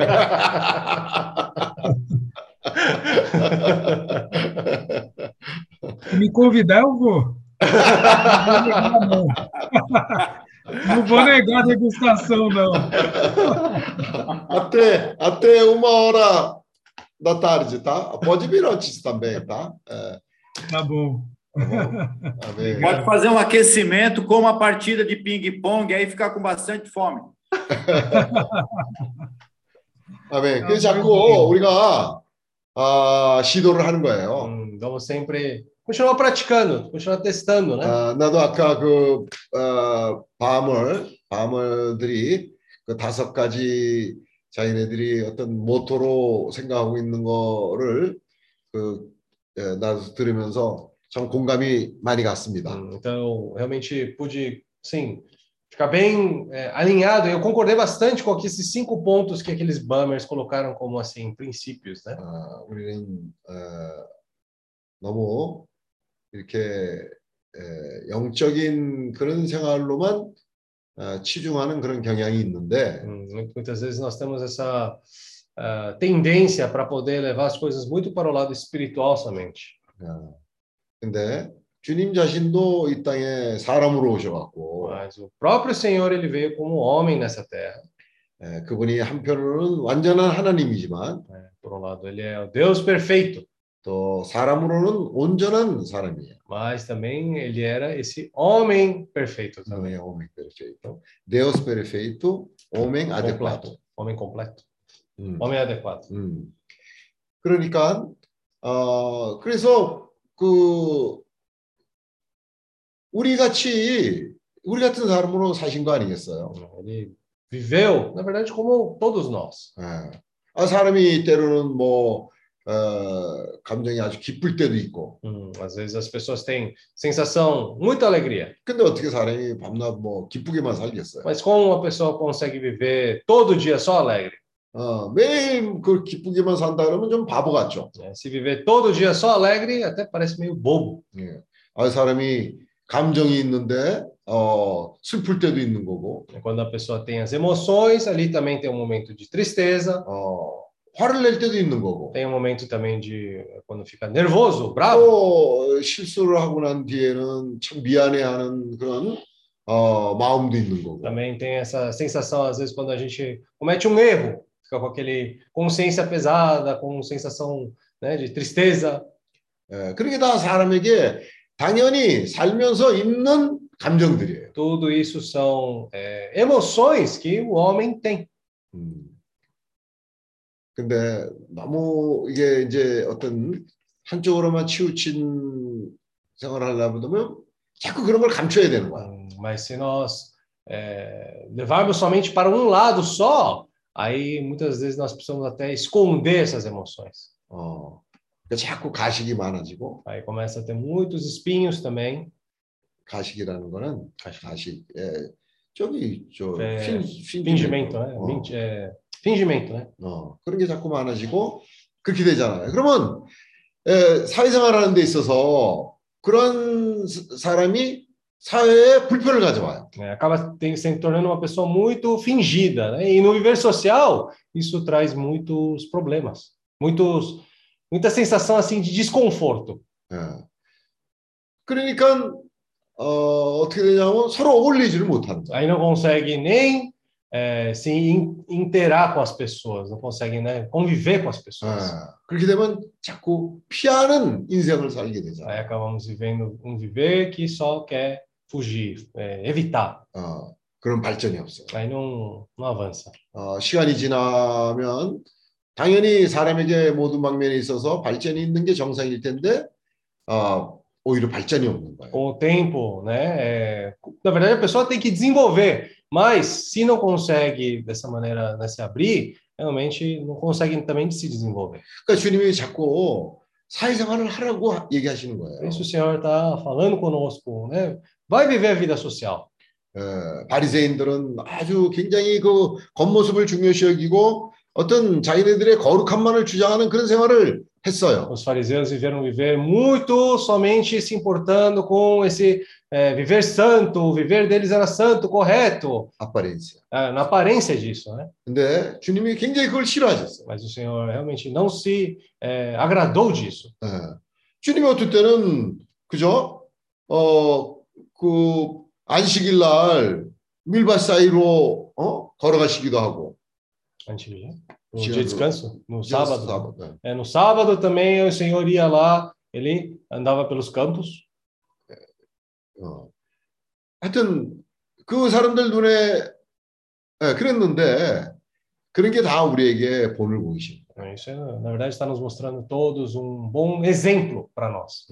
Se me convidar, eu vou. Não vou negar a degustação, não. Até 1h da tarde, tá? Pode vir antes também, tá? Tá bom. Pode fazer um aquecimento com uma partida de ping-pong, aí ficar com bastante fome. 그래서 자꾸 우리가 시도를 하는 거예요. Vamos sempre continuar praticando, continuar testando, né? 나도 아까 바물들이 그 5가지 자기네들이 어떤 모토로 생각하고 있는 거를 나도 들으면서 참 공감이 많이 갔습니다. Então, realmente pude, sim, ficar bem alinhado. Eu concordei bastante com esses 5 pontos que aqueles bummers colocaram como assim princípios, né? 우리는 너무 이렇게 영적인 그런 생활로만 치중하는 그런 경향이 있는데 muitas vezes nós temos essa tendência para poder levar as coisas muito para o lado espiritual somente. 근데 주님 자신도 이 땅에 사람으로 오셔갖고 Mas o próprio Senhor ele veio como homem nessa terra. 그분이 한편으로는 완전한 하나님이지만 por um lado ele é o Deus perfeito. 또 사람으로는 온전한 사람이에요. Mas também ele era esse homem perfeito também. Homem perfeito. Deus perfeito, homem adequado. Homem completo. homem adequado. 그러니까 그래서 우리 같은 사람으로 사신 거 아니겠어요? Ele viveu, na verdade, como todos nós. 사람이 때로는 감정이 아주 기쁠 때도 있고. Às vezes as pessoas têm sensação, muita alegria. 근데 어떻게 사람이 밤낮 기쁘게만 살겠어요? Mas como uma pessoa consegue viver todo dia só alegre? 매일 기쁘게만 산다 그러면 좀 바보 같죠. Se viver todo dia só alegre, até parece meio bobo. 사람이 감정이 있는데 슬플 때도 있는 거고. Quando a pessoa tem as emoções, ali também tem um momento de tristeza. 화를 낼 때도 있는 거고. Tem momento também de quando fica nervoso, bravo. 또 실수를 하고 난 뒤에는 참 미안해하는 그런 마음도 있는 거고. Também tem essa sensação às vezes quando a gente comete um erro, fica com aquele consciência pesada, com sensação, né, de tristeza. 그게 다 사람에게 당연히 살면서 있는 감정들이에요. Tudo isso são emoções que o homem tem. 근데 너무 이게 이제 어떤 한쪽으로만 치우친 생활을 하려면 자꾸 그런 걸 감춰야 되는 거야. Mas se nós levarmos somente para um lado só, aí muitas vezes nós precisamos até esconder essas emoções. 그러니까 자꾸 가식이 많아지고. Aí começa a ter muitos espinhos também. 가식이라는 거는 가식, 저기 저 fingimento, né? fingimento, né? 그런 게 자꾸 많아지고 그렇게 되잖아요. 그러면 사회생활하는 데 있어서 그런 사람이 사회에 불편을 가져와요. Acaba se tornando uma pessoa muito fingida, né? E no viver social isso traz muitos problemas, muita sensação assim de desconforto. 그러니까 어떻게 되냐면 서로 어울리지를 못하는 거예요. Aí não consegue nem se interar com as pessoas, não consegue, né, conviver com as pessoas. 그렇게 되면 자꾸 피하는 인생을 살게 되잖아요. Aí acabamos vivendo um viver que só quer fugir, evitar. 그런 발전이 없어요. Aí não avança. 시간이 지나면 당연히 사람에게 모든 방면에 있어서 발전이 있는 게 정상일 텐데 오히려 발전이 없는 거예요. Com o tempo, né? Na verdade, a pessoa tem que desenvolver, mas se não consegue dessa maneira, né, se abrir, realmente não consegue também se desenvolver. 그러니까 주님이 자꾸 사회생활을 하라고 얘기하시는 거예요. Por isso o Senhor está falando conosco, né? Vai viver a vida social. 바리새인들은 아주 굉장히 그 겉모습을 중요시 여기고 어떤 자기네들의 거룩함만을 주장하는 그런 생활을 했어요. Os fariseus viveram viver muito somente se importando com esse viver santo, o viver deles era santo, correto. aparência. Na aparência disso, né? 근데 주님이 굉장히 그걸 싫어하셨어요. Mas o Senhor realmente não se agradou disso. 주님이 어떨 때는 그죠? 그 안식일 날 밀밭 사이로 걸어가시기도 하고. Antigo, no dia de descanso, no sábado. No sábado também o Senhor ia lá, ele andava pelos campos. 하여튼 그 사람들 눈에 그랬는데 그런 게 다 우리에게 본을 보이십니다. Isso na verdade está nos mostrando todos bom exemplo para nós.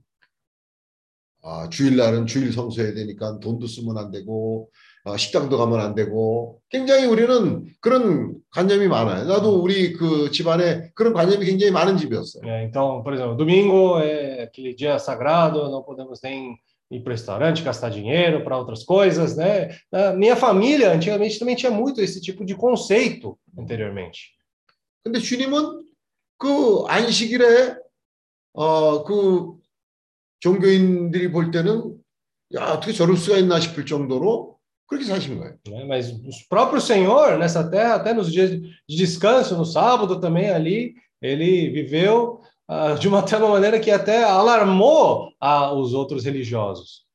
주일날은 주일 성수해야 되니까 돈도 쓰면 안 되고 식당도 가면 안 되고 굉장히 우리는 그런 관념이 많아요. 나도 우리 그 집안에 그런 관념이 굉장히 많은 집이었어요. Então, por exemplo, domingo é aquele dia sagrado, não podemos nem ir para o restaurante, gastar dinheiro para outras coisas, né? Na minha família, antigamente também tinha muito esse tipo de conceito anteriormente. 근데 주님은 그 안식일에 그 종교인들이 볼 때는 야, 어떻게 저럴 수가 있나 싶을 정도로 그렇게 사신 거예요. Mas o próprio Senhor nessa terra, até nos dias de descanso, no sábado também ali, ele viveu de uma tal maneira que até alarmou os outros religiosos.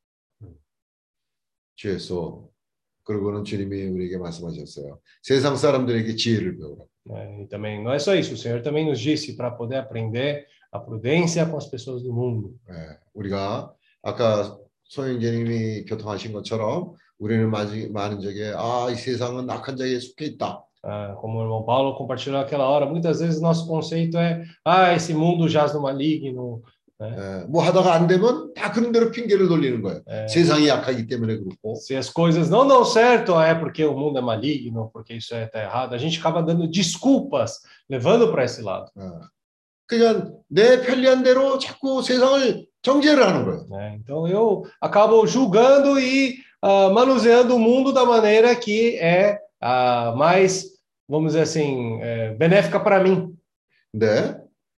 주에서 그러고는 주님이 우리에게 말씀하셨어요. 세상 사람들에게 지혜를 배우라. E também não é só isso, o Senhor também nos disse para poder aprender a prudência com as pessoas do mundo. 우리가 아까 소영재님이 교통하신 것처럼 우리는 많은 적에 이 세상은 악한 자에 속해 있다. Como o irmão Paulo compartilhou naquela hora, muitas vezes nosso conceito é esse mundo jaz no maligno. 뭐 하다가 안 되면 다 그런 대로 핑계를 돌리는 거예요. 세상이 약하기 때문에 그렇고. Se as coisas não dão certo, é porque o mundo é maligno, porque isso está errado. A gente acaba dando desculpas, levando para esse lado. 그냥 내 편리한 대로 자꾸 세상을 정죄를 하는 거예요. Então eu acabo julgando e manuseando o mundo da maneira que é mais, vamos dizer assim, benéfica para mim. 네.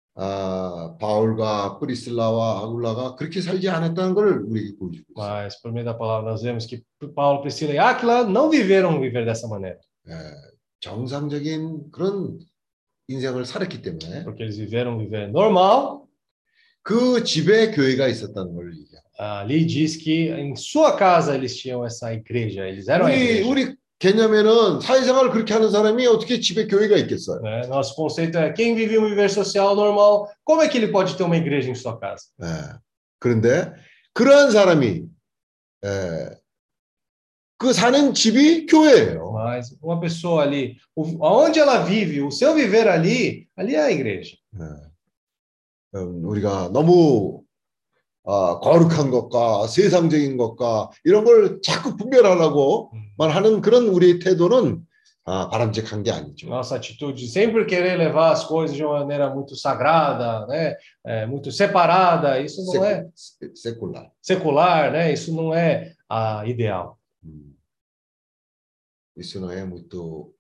바울과 프리실라와 아굴라가 그렇게 살지 않았다는 걸 우리에게 보여주고 있어요. Mas por meio da palavra nós vemos que Paulo, Priscila e Áquila não viveram viver dessa maneira. 정상적인 그런 인생을 살았기 때문에 porque eles viver normal. 그 집에 교회가 있었다는 걸 얘기해요. Ali diz que em sua casa eles tinham essa igreja, eles eram a igreja. 우리 개념에는 사회생활을 그렇게 하는 사람이 어떻게 집에 교회가 있겠어요? Né? Nosso conceito é quem vive um viver social normal, como é que ele pode ter uma igreja em sua casa? 네. 그런데 그러한 사람이 그 사는 집이 교회예요. Mas uma pessoa ali, aonde ela vive, o seu viver ali é a igreja. 네. 우리가 너무 거룩한 것과 세상적인 것과 이런 걸 자꾸 분별하려고만 하는 그런 우리의 태도는 바람직한 게 아니죠. Nossa atitude de sempre querer levar as coisas de uma maneira muito sagrada, né? Muito separada, isso não é secular, né? Isso não é ideal. Isso não é muito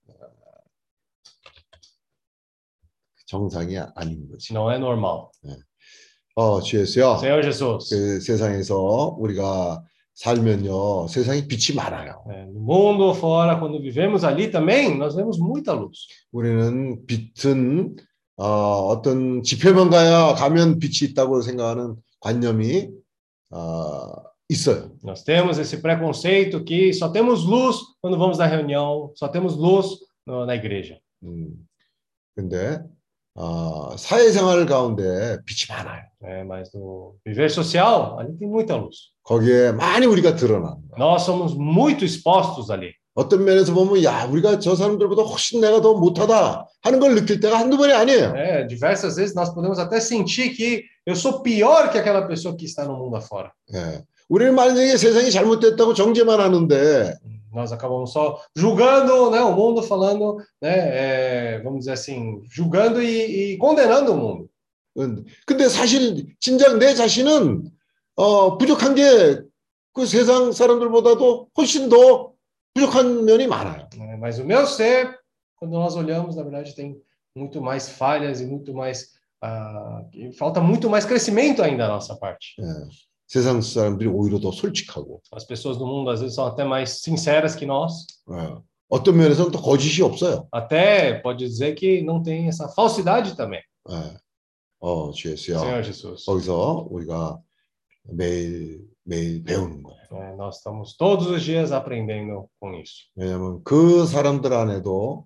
정상이 아닌 거지. Não é normal. 네. 주 예수요. Senhor Jesus. 그 세상에서 우리가 살면요, 세상에 빛이 많아요. No mundo fora, quando vivemos ali também, nós vemos muita luz. 우리는 빛은 어떤 집회만 가면 빛이 있다고 생각하는 관념이 있어요. Nós temos esse preconceito que só temos luz quando vamos na reunião, só temos luz na igreja. 근데 사회생활 가운데 빛이 많아요. Mas no viver social, ali tem muita luz. 거기에 많이 우리가 드러나는 거예요. Nós somos muito expostos ali. 어떤 면에서 보면 야, 우리가 저 사람들보다 훨씬 내가 더 못하다 하는 걸 느낄 때가 한두 번이 아니에요. Diversas vezes nós podemos até sentir que eu sou pior que aquela pessoa que está no mundo afora. 우리는 만약에 세상이 잘못됐다고 정죄만 하는데 nós acabamos só julgando, né, o mundo, falando, né, vamos dizer assim, julgando e condenando o mundo. 근데 사실 진작 내 자신은 부족한 게 그 세상 사람들보다도 훨씬 더 부족한 면이 많아요. Mas o meu ser, quando nós olhamos, na verdade, tem muito mais falhas e muito mais falta muito mais crescimento ainda da nossa parte. 세상 사람들이 오히려 더 솔직하고. As pessoas do mundo às vezes são até mais sinceras que nós. 어떤 면에서는 또 거짓이 없어요. Até pode dizer que não tem essa falsidade também. 주 예수야. Senhor Jesus. 거기서 우리가 매일 배우는 거예요. Nós estamos todos os dias aprendendo com isso. 왜냐하면 그 사람들 안에도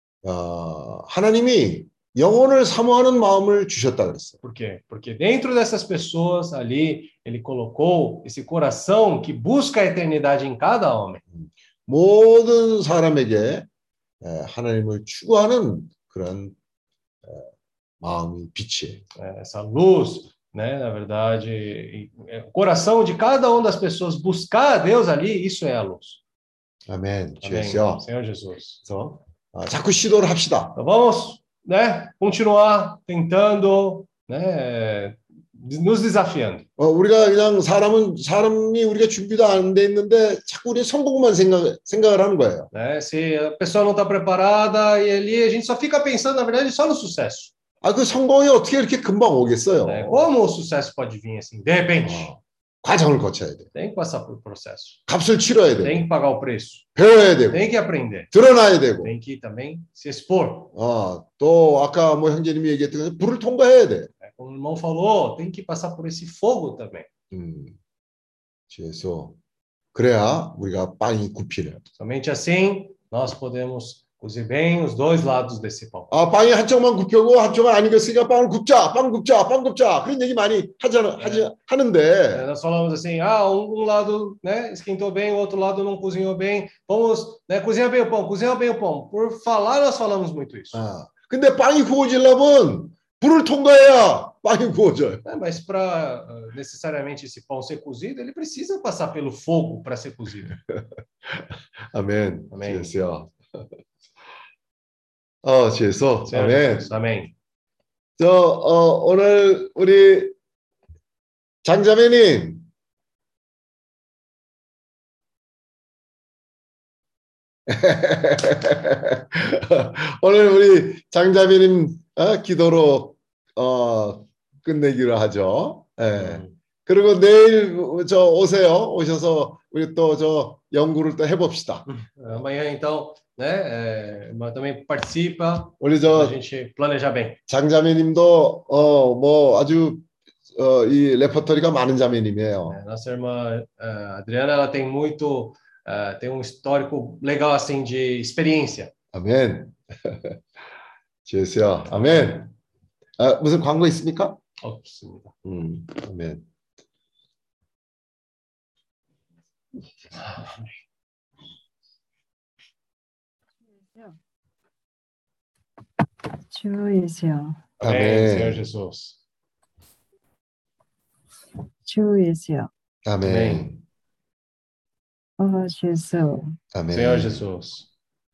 하나님이 영혼을 사모하는 마음을 주셨다 그랬어요. Por quê? Porque dentro dessas pessoas ali, ele colocou esse coração que busca a eternidade em cada homem. 모든 사람에게 하나님을 추구하는 그런 마음이 빛이에요. Essa luz, né, na verdade, o coração de cada uma das pessoas buscar a Deus ali, isso é a luz. 아멘. Amém. 주여. Senhor Jesus. 그래서 자꾸 시도를 합시다. Então vamos, né, continuar tentando, né, nos desafiando. 우리가 그냥 사람이 우리가 준비도 안 돼 있는데 자꾸 우리 성공만 생각을 하는 거예요. Se a pessoa não está preparada e ali a gente só fica pensando, na verdade, só no sucesso. 그 성공이 어떻게 이렇게 금방 오겠어요? Como o sucesso pode vir assim, de repente? 과정을 거쳐야 돼. Tem que passar por processo. 값을 치러야 돼. Tem que pagar o preço. 배워야 되고. Tem que aprender. 드러나야 되고. Tem que também se expor. 또 아까 뭐 형제님이 얘기했던 것처럼 불을 통과해야 돼. Como o irmão falou, tem que passar por esse fogo também. 그래서 그래야 우리가 빵이 굽히려. Somente assim nós podemos cozer bem os dois lados desse pão. 빵이 한쪽만 굽혀고 한쪽은 안 익었으니까 빵 굽자. 그런 얘기 많이 하는데. Nós falamos assim, um lado, né, esquentou bem, o outro lado não cozinhou bem. Vamos, né, cozinhar bem o pão. Por falar nós falamos muito isso. 근데 빵이 구워지려면 불을 통과해야 빵이 구워져요. Mas para necessariamente esse pão ser cozido, ele precisa passar pelo fogo para ser cozido. 아멘. 아멘. 주여. 주여서. 아멘. 아멘. 오늘 우리 장자매님. 오늘 우리 장자매님 기도로 끝내기로 하죠. 그리고 내일 저 오세요. 오셔서 우리 또 저 연구를 또 해봅시다. Amanhã, então, né? Mas também participa. 우리 Pra 저 gente planejar bem. 장자매님도 뭐 아주 이 레퍼토리가 많은 자매님이에요. Nossa irmã Adriana, ela tem muito, tem um histórico legal assim de experiência. 아멘. 주여, 아멘. 무슨 광고 있습니까? 없습니다. 아멘. 주 예수여. Amém, Senhor Jesus. 주 예수여. 아멘. 주 예수. 아멘. Senhor Jesus.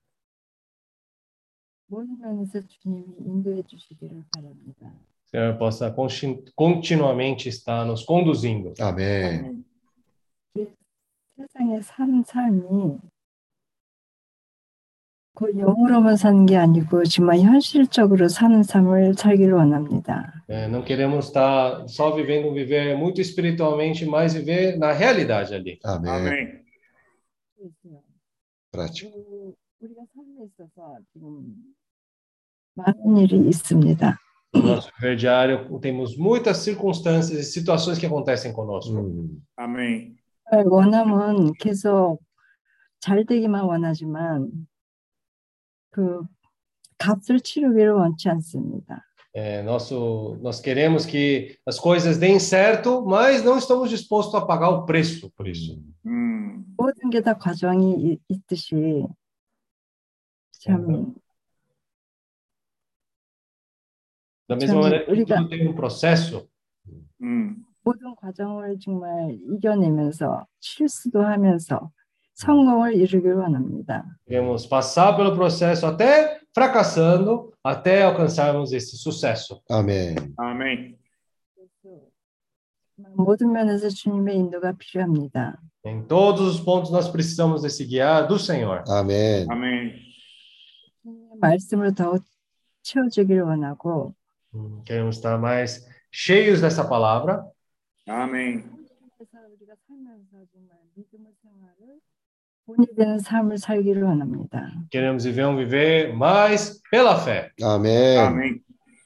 모든 면에서 주님이 인도해 주시기를 바랍니다. Senhor possa continuamente estar nos conduzindo. 아멘. 세상에 사는 삶이 그 영으로만 사는 게 아니고 정말 현실적으로 사는 삶을 살기를 원합니다. Não queremos estar só vivendo viver muito espiritualmente, mas viver na realidade ali. 아멘. 그렇죠. 우리가 삶에 있어서 지금 많은 일이 있습니다. No nosso viver diário temos muitas circunstâncias e situações que acontecem conosco. 아멘. 원함은 계속 잘 되기만 원하지만 그 값을 치르기를 원치 않습니다. Nós queremos que as coisas deem certo, mas não estamos dispostos a pagar o preço por isso. 모든 게 다 과정이 있듯이 참 Da mesma maneira que tudo tem processo. 모든 과정을 정말 이겨내면서 실수도 하면서 성공을 이루기를 원합니다. Queremos passar pelo processo até fracassando, até alcançarmos esse sucesso. 아멘. 아멘. 모든 면에서 주님의 인도가 필요합니다. Em todos os pontos nós precisamos desse guiar do Senhor. 아멘. 아멘. 말씀으로 더 채워주기를 원하고 Queremos estar mais cheios dessa palavra. 아멘. 그래서 우리가 살면서 정말 믿음의 생활을 본이 되는 삶을 살기를 원합니다. Queremos viver mais pela fé. 아멘. 아멘.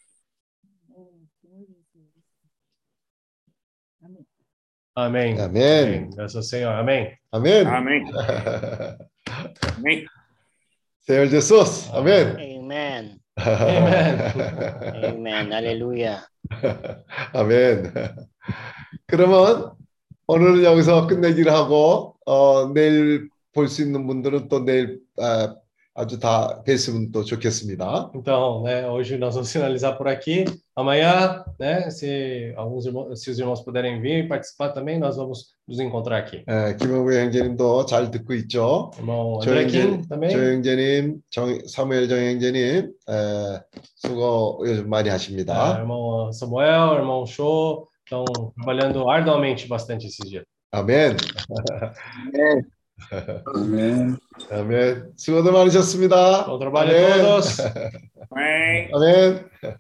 Amém. Amém. Graças ao Senhor. Amém. 아멘. 아멘. 아멘. Senhor Jesus. 아멘. Amen. Amen. Amen. Hallelujah. 아멘. 그러면 오늘은 여기서 끝내기를 하고 내일 볼 수 있는 분들은 또 내일 아주 다 뵀으면 또 좋겠습니다. Então, né, hoje nós vamos finalizar por aqui. Amanhã, né, se os irmãos puderem vir e participar também, nós vamos nos encontrar aqui. 김영구 형제님도 잘 듣고 있죠. Irmão André Kim também. 조영재님, 사무엘 정형제님 수고 요즘 많이 하십니다. Irmão Samuel, irmão Show, estão trabalhando arduamente bastante esses dias. 아멘. 아멘. 아멘. 수고들 많으셨습니다. Bom trabalho a todos. 아멘. 아멘.